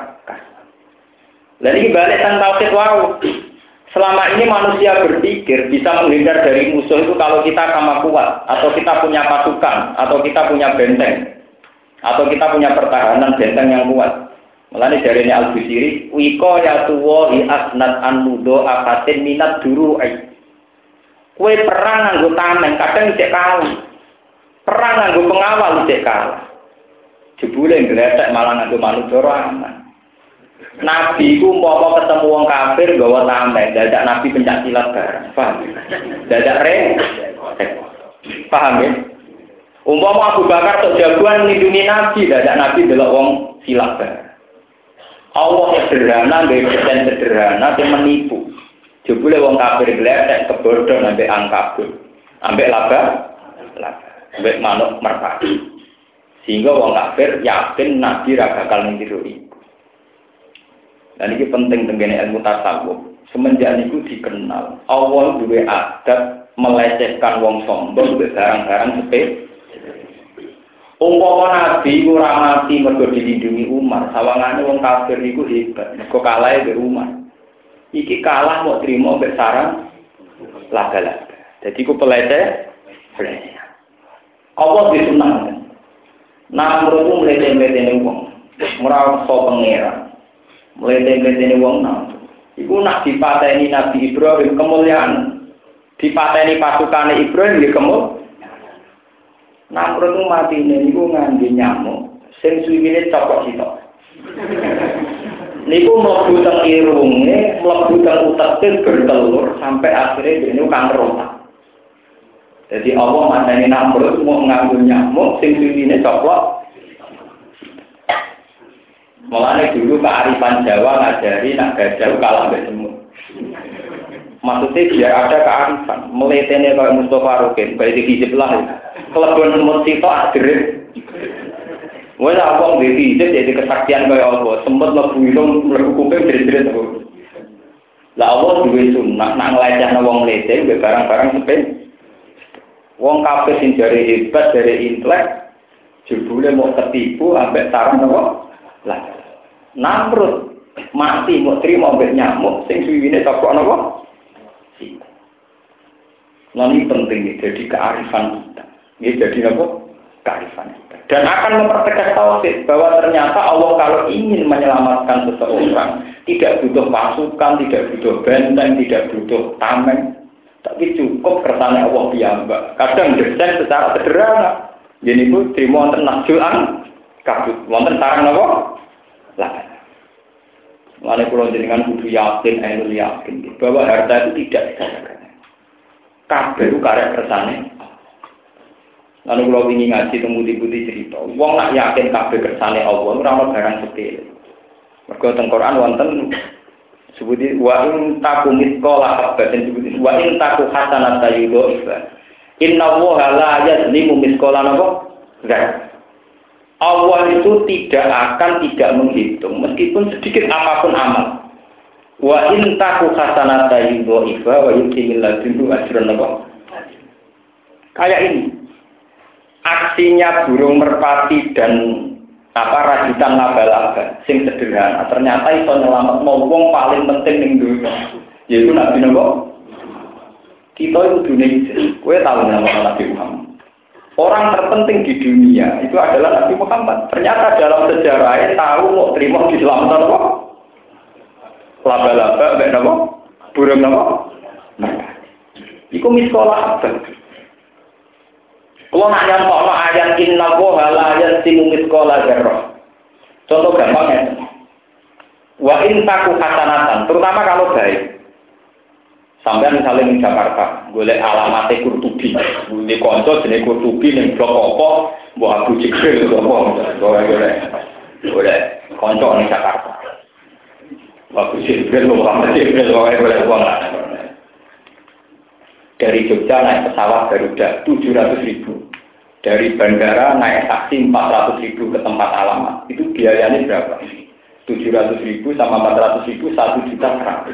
Lah iki balik tentang tauhid wau. Selama ini manusia berpikir bisa menghindar dari musuh itu kalau kita sama kuat, atau kita punya pasukan, atau kita punya benteng, atau kita punya pertahanan benteng yang kuat. Mulane jarene Al-Busiri, wiko ya tuwa hi asnat an mudo akatin minat duru'i. Kowe perang nganggo tameng, kadang cek kalah. Perang nganggo pengawal cek kalah. Jebule ngletek malah nganggo manuk doro aman. Nabi ku umpama ketemu wong kafir gawa tameng, dadak Nabi pencak silat bareng. Paham? Dadak paham ya? Umpama Abu Bakar tok jagoan nindungi Nabi, dadak Nabi delok wong silat bareng. Allah sederhana, dan sederhana yang menipu. Jebule wong kafir gletek kebodhon ambek angkabut, ambek laba, ambek manuk merpati. Sehingga wong kafir yakin Nabi ra bakal niru iku. Dan ini penting tenggene ilmu tasawuf. Semenjak niku dikenal, Allah duwe adat melecehkan wong sombong mbek barang-barang sepele. Umpama Nabi ora mati mergo dilindungi Umar, sawangane wong kafir niku hebat, mergo kalah mbek Umar. Iki kalah mau trimo mbek sarang laga-laga. Dadi ku peleceh. Allah disunahkan. Nah, menurutku mlete-mletene wong, ora iso pangeran. Mlete-mletene wong nang. Iku nak dipateni Nabi Ibrahim kemuliaan. Dipateni pasukane Ibrahim nggih kemuliaan. Nah, menurutku matine niku ngangge nyamuk sing suwine copok sitok. Niku mlebu teng irunge, mlebu teng uteke bertelur sampai akhirnya dene kanker otak. Jadi Allah mateni Namrud mau nganggo nyamuk sing suwine copok. Mulane dulu kearifan Jawa ngajari nak gajah kalah mbek semut. Maksudnya biar ada kearifan. Meletene kayak Mustafa Rukin, baik dihijab lah. Kelebihan semut sitok adrit. Wes awong dihijab jadi kesaktian kayak Allah. Semut lebu ilung mlebu kuping jerit-jerit aku. Lah Allah duwe sunah nak nglecehna wong lete mbek barang-barang sepele. Wong kabeh sing jare hebat jare intelek jebule mau ketipu ambek sarang apa? Lah. Namrud mati mau trimo ambek nyamuk sing suwiwine tokok napa? Nah ini penting jadi kearifan kita. Ini jadi apa? Kearifan kita. Dan akan mempertegas tauhid bahwa ternyata Allah kalau ingin menyelamatkan seseorang tidak butuh pasukan, tidak butuh benteng, tidak butuh tameng, tapi cukup kersane Allah piyambak. Kadang desain secara sederhana. Jadi itu terima wonten nasjuan kabut, wonten sarang apa? Lah. Mulane kula jenengan kudu yakin, ainul yakin bahwa harta itu tidak dikatakan. Kabeh ku karek kersane. Lalu kalau ingin ngaji temu-temu cerita, wong nak yakin kabeh kersane Allah ora ono barang sepele. Mergo teng Quran wonten sebuti wa in taku misqala habatin sebuti wa in taku hasanatan yudhifa. Inna Allaha la yazlimu misqala napa? Allah itu tidak menghitung meskipun sedikit apapun amal. Wa in taku hasanatan yudhifa wa yutimil ladunhu ajran napa? Kayak ini. Aksinya burung merpati dan rajutan laba-laba sing sederhana ternyata iso nyelametno wong paling penting ning dunya yaitu Nabi napa kita itu dunia kowe tahu nama Nabi Muhammad orang terpenting di dunia itu adalah Nabi Muhammad ternyata dalam sejarahnya tahu mau terima diselamatkan apa laba-laba mek napa burung napa iku miskola apa. Kalau nak nyampokno ayat inna woha la yasimu miskola dzarrah. Contoh gampangnya. Wa in taku hasanatan, terutama kalau baik. Sampai misalnya di Jakarta, golek alamatnya Kurtubi, di konco jenis Kurtubi ning blok apa, mbok Abu Jibril apa, golek konco ning Jakarta. Abu Jibril, Muhammad Jibril, golek uang lah. Dari Jogja naik pesawat Garuda 700.000. Dari bandara naik taksi 400.000 ke tempat alamat. Itu biayanya berapa? 700.000 sama 400.000 1.100.000.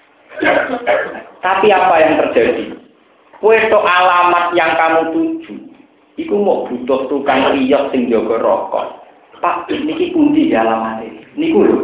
Tapi apa yang terjadi? Kueto alamat yang kamu tuju, itu mau butuh tukang riok sing jaga rokok. Pak, niki kunci alamat ini. Niku lho.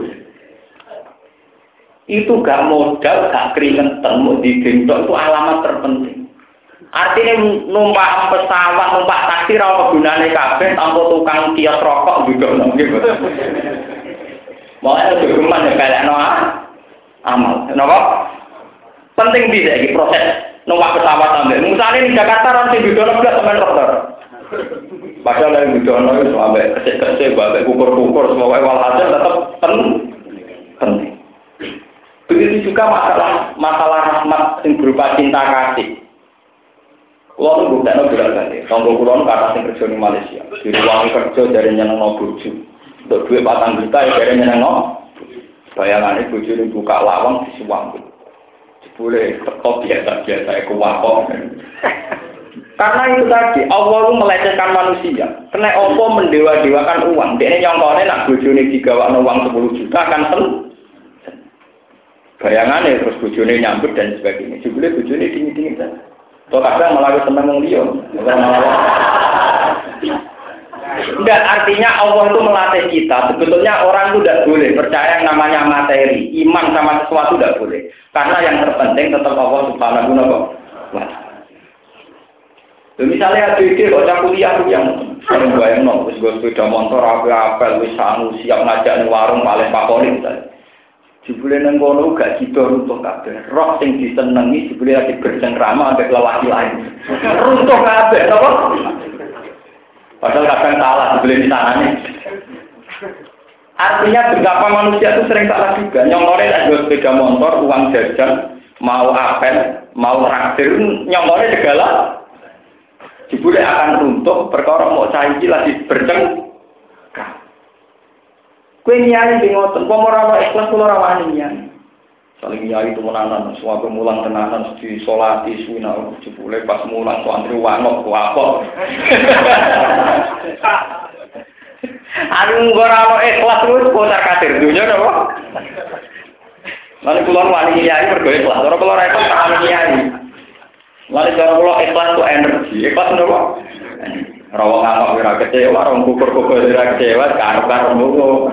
Itu gak modal, gak keringetan, mau digendong itu alamat terpenting. Artinya numpak pesawat, numpak taksi, rawa gunane kabeh, tanpa tukang kios rokok juga gitu. Makanya dokumen ya kayak amal. Kenapa? Penting bisa ini proses numpak pesawat sampai. Misalnya di Jakarta orang di Bidono juga teman dokter. Padahal dari Bidono itu sampai kesek-kesek, sampai kukur-kukur, semua walhasil tetap penting. Begitu juga masalah rahmat yang berupa cinta kasih. Kulo nu buktekno berat-berat. Tanggo kulo nu kata sing kerja di Malaysia. Di ruang kerja dari nyenengno bojo. Untuk duit 4 juta ya dari nyenengno. Bayangane bojone buka lawang disuwang. Boleh tetap biasa-biasa iku wakok. Karena itu tadi Allah itu melecehkan manusia. Karena Allah mendewa-dewakan uang. Dia nyongkone nak bojone digawakno uang 10 juta akan seneng. Bayangannya terus bojone nyambut dan sebagainya. Jebule bojone dingin-dingin saja. Toh kadang malah seneng wong liya. Enggak, artinya Allah itu melatih kita. Sebetulnya orang itu tidak boleh percaya yang namanya materi. Iman sama sesuatu tidak boleh. Karena yang terpenting tetap Allah Subhanahu wa ta'ala. Misalnya adik kok kuliah yang sering bayangno wis go sepeda motor apel wis sanu siap ngajak ning warung paling favorit. Jebule nang kono gak sida runtuh kabeh. Roh sing disenengi jebule lagi bercengkrama ambek lelaki lain. Runtuh kabeh, apa? Padahal kadang salah jebule di sanane. Artinya betapa manusia itu sering salah juga. Nyongkore tak jual sepeda motor, uang jajan, mau apel, mau traktir, nyongkore segala. Jebule akan runtuh perkara mau caci lagi bercengkrama. Kue nyari di ngoten, kok ora ikhlas kula ora wani nyari. Saling nyai itu menanan, suatu mulang tenanan di solati suina jebule pas mulang santri wangok kuapok. Aduh ora ono ikhlas terus kocar kadir dunya napa? Lalu kula wani nyai mergo ikhlas, ora kula ora ikhlas tak nyai. Lalu cara kula ikhlas ku energi, ikhlas napa? Ora ngamuk ora kecewa, ora kukur-kukur ora kecewa, karo-karo ngono.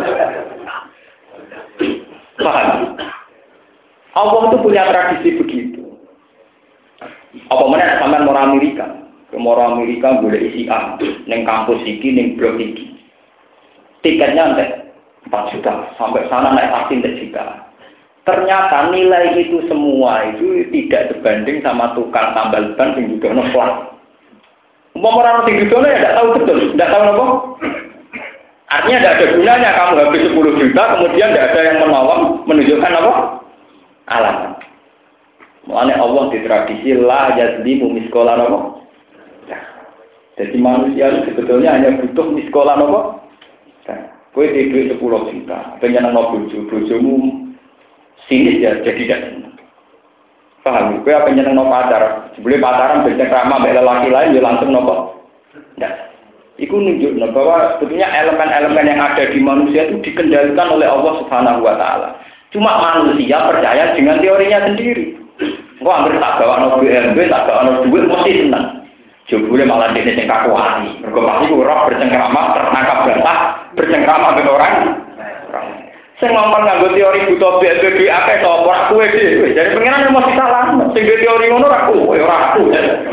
Paham? Allah itu punya tradisi begitu. Apa mana sampean mau Amerika? Mau Amerika boleh isi A, neng kampus iki, neng blok iki. Tiketnya nanti 4 juta, sampai sana naik taksi 4 juta. Ternyata nilai itu semua itu tidak sebanding sama tukang tambal ban yang juga nolak. Orang yang juga ya tidak tahu betul, tidak tahu apa. Artinya tidak ada gunanya kamu habis 10 juta, kemudian tidak ada yang menolong menunjukkan apa? Alamat. Mulanya Allah di tradisi la yazlimu miskola apa? Jadi manusia itu sebetulnya hanya butuh miskola apa? Kowe duit 10 juta, pengen ana bojomu sinis ya jadi tidak senang. Paham? Kowe apa nyeneng pacar? Sebelum pacaran bercengkrama mbek lelaki lain ya langsung nopo? Ndak. Iku nunjukno bahwa sebetulnya elemen-elemen yang ada di manusia itu dikendalikan oleh Allah Subhanahu wa taala. Cuma manusia percaya dengan teorinya sendiri. Kok hampir tak bawa no BMB, tak bawa no duit, mesti senang. Jebule malah dia sing kaku hati. Mergo pasti ora bercengkrama, tertangkap basah, bercengkrama dengan orang. Sing ngomong nganggo teori buta BMB duit akeh to ora kowe dhewe. Jadi pengenan mesti salah. Sing teori ngono ora kowe, ora aku.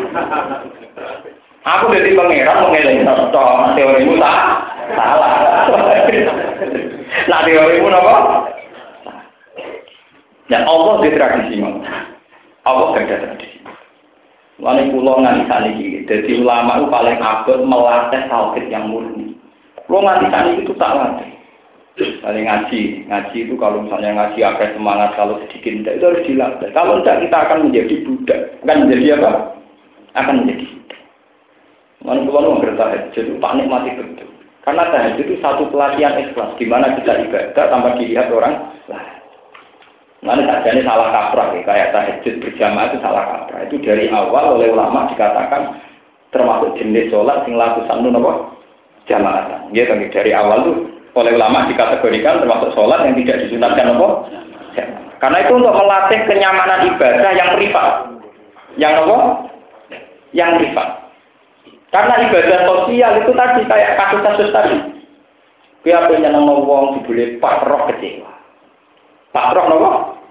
Aku dadi pangeran mengeleng to teorimu tak salah. Nah teorimu napa? Dan Allah di tradisi Allah gak ada tradisi. Lalu pulau nganti ini, jadi ulama itu paling abad melatih tauhid yang murni. Pulau nganti itu tak latih. Paling ngaji itu kalau misalnya ngaji agak semangat, kalau sedikit tidak itu harus dilatih. Kalau tidak kita akan menjadi budak, akan menjadi apa? Akan menjadi budak. Lalu pulau tahajud itu tak nikmati betul. Karena tahajud itu satu pelatihan ikhlas, di mana kita ibadah tanpa dilihat orang lain. Mana sajane salah kaprah ya, kayak tahajud berjamaah itu salah kaprah. Itu dari awal oleh ulama dikatakan termasuk jenis sholat sing lakukan apa? Jamaah. Ya kan dari awal tuh oleh ulama dikategorikan termasuk sholat yang tidak disunatkan apa? Jamaah. Karena itu untuk melatih kenyamanan ibadah yang privat. Yang apa? Yang privat. Karena ibadah sosial itu tadi kayak kasus-kasus tadi. Dia punya nama wong dibeli Pak Roh kecewa. Pak Roh nopo?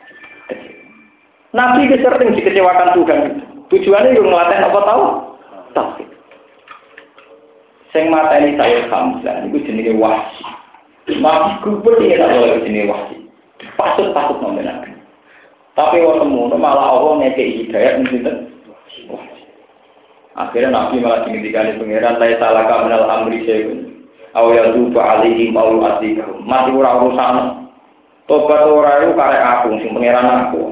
Nabi itu sering dikecewakan Tuhan. Tujuannya yang melatih apa tahu? Tauhid. Sing mateni saya Hamzah itu jenenge Wahsy. Nabi kubur ini tak boleh jenenge Wahsy. Pasut-pasut nomor Nabi. Tapi waktu semuanya malah Allah ngekei hidayat mencintai Wahsy. Akhirnya Nabi malah dimintikan pangeran la salaka minal amri syai'un. Aw yatubu alaihim aw yu'adzibahum. Mati ora urusan. Tobat ora itu karek aku, sing pangeran aku.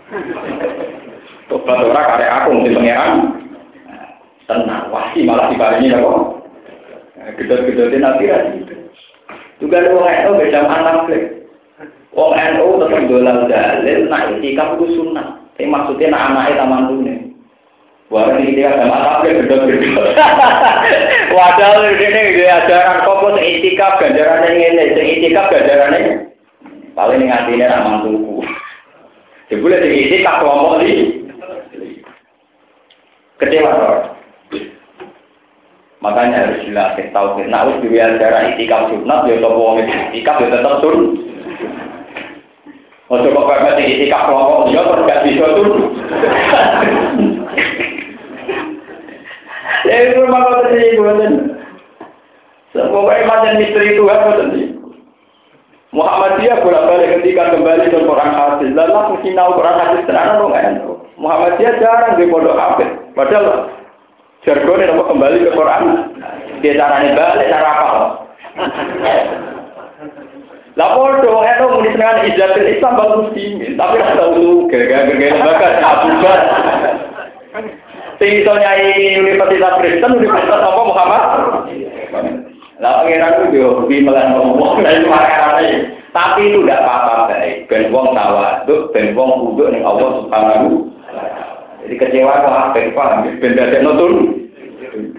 Tobat ora karek aku, sing pangeran. Tenang, Wahsy malah diparingi apa? Gedor-gedornya Nabi lagi. Juga ada orang NU beda anak lagi. Orang NU tetap dolal dalil, nak itikaf itu sunnah. Tapi maksudnya nak anaknya taman dunia. Wah ini dia sama apa gedor-gedor. Wadah ini dia ajaran kok itikaf ganjarannya ini, itikaf ganjarannya. Paling ngatinya ramah tuku. Jadi boleh diisi tak kelompok di kecewa loh. Makanya harus dilatih tahu. Nah, harus diajaran itikaf sunat, ya topo itikaf ya tetap sun. Untuk kok itikaf kelompok dia tergak bisa sun. Ya itu memang terjadi buatan. Pokoknya macam misteri Tuhan buatan. Muhammadiyah bolak-balik ketika kembali ke Quran hadis. Lalu mungkin tahu Quran hadis tenan atau enggak? Muhammadiyah jarang di pondok hadis. Padahal jargonnya apa kembali ke Quran. Dia caranya balik cara apa? Lah pondok itu muni dengan ijazatul Islam bagus muslimin, tapi ora tahu gara-gara lembaga abubat. Sing iso nyai Universitas Kristen, Universitas apa Muhammad? Lah pangeran ku yo hobi melan ngomong lan marane. Tapi itu tidak apa-apa baik. Ben wong tawaduk, ben wong kudu ning Allah Subhanahu. Jadi kecewa kok apa paham? Ben dadekno tun.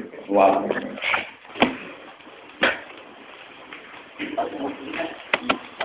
Wah.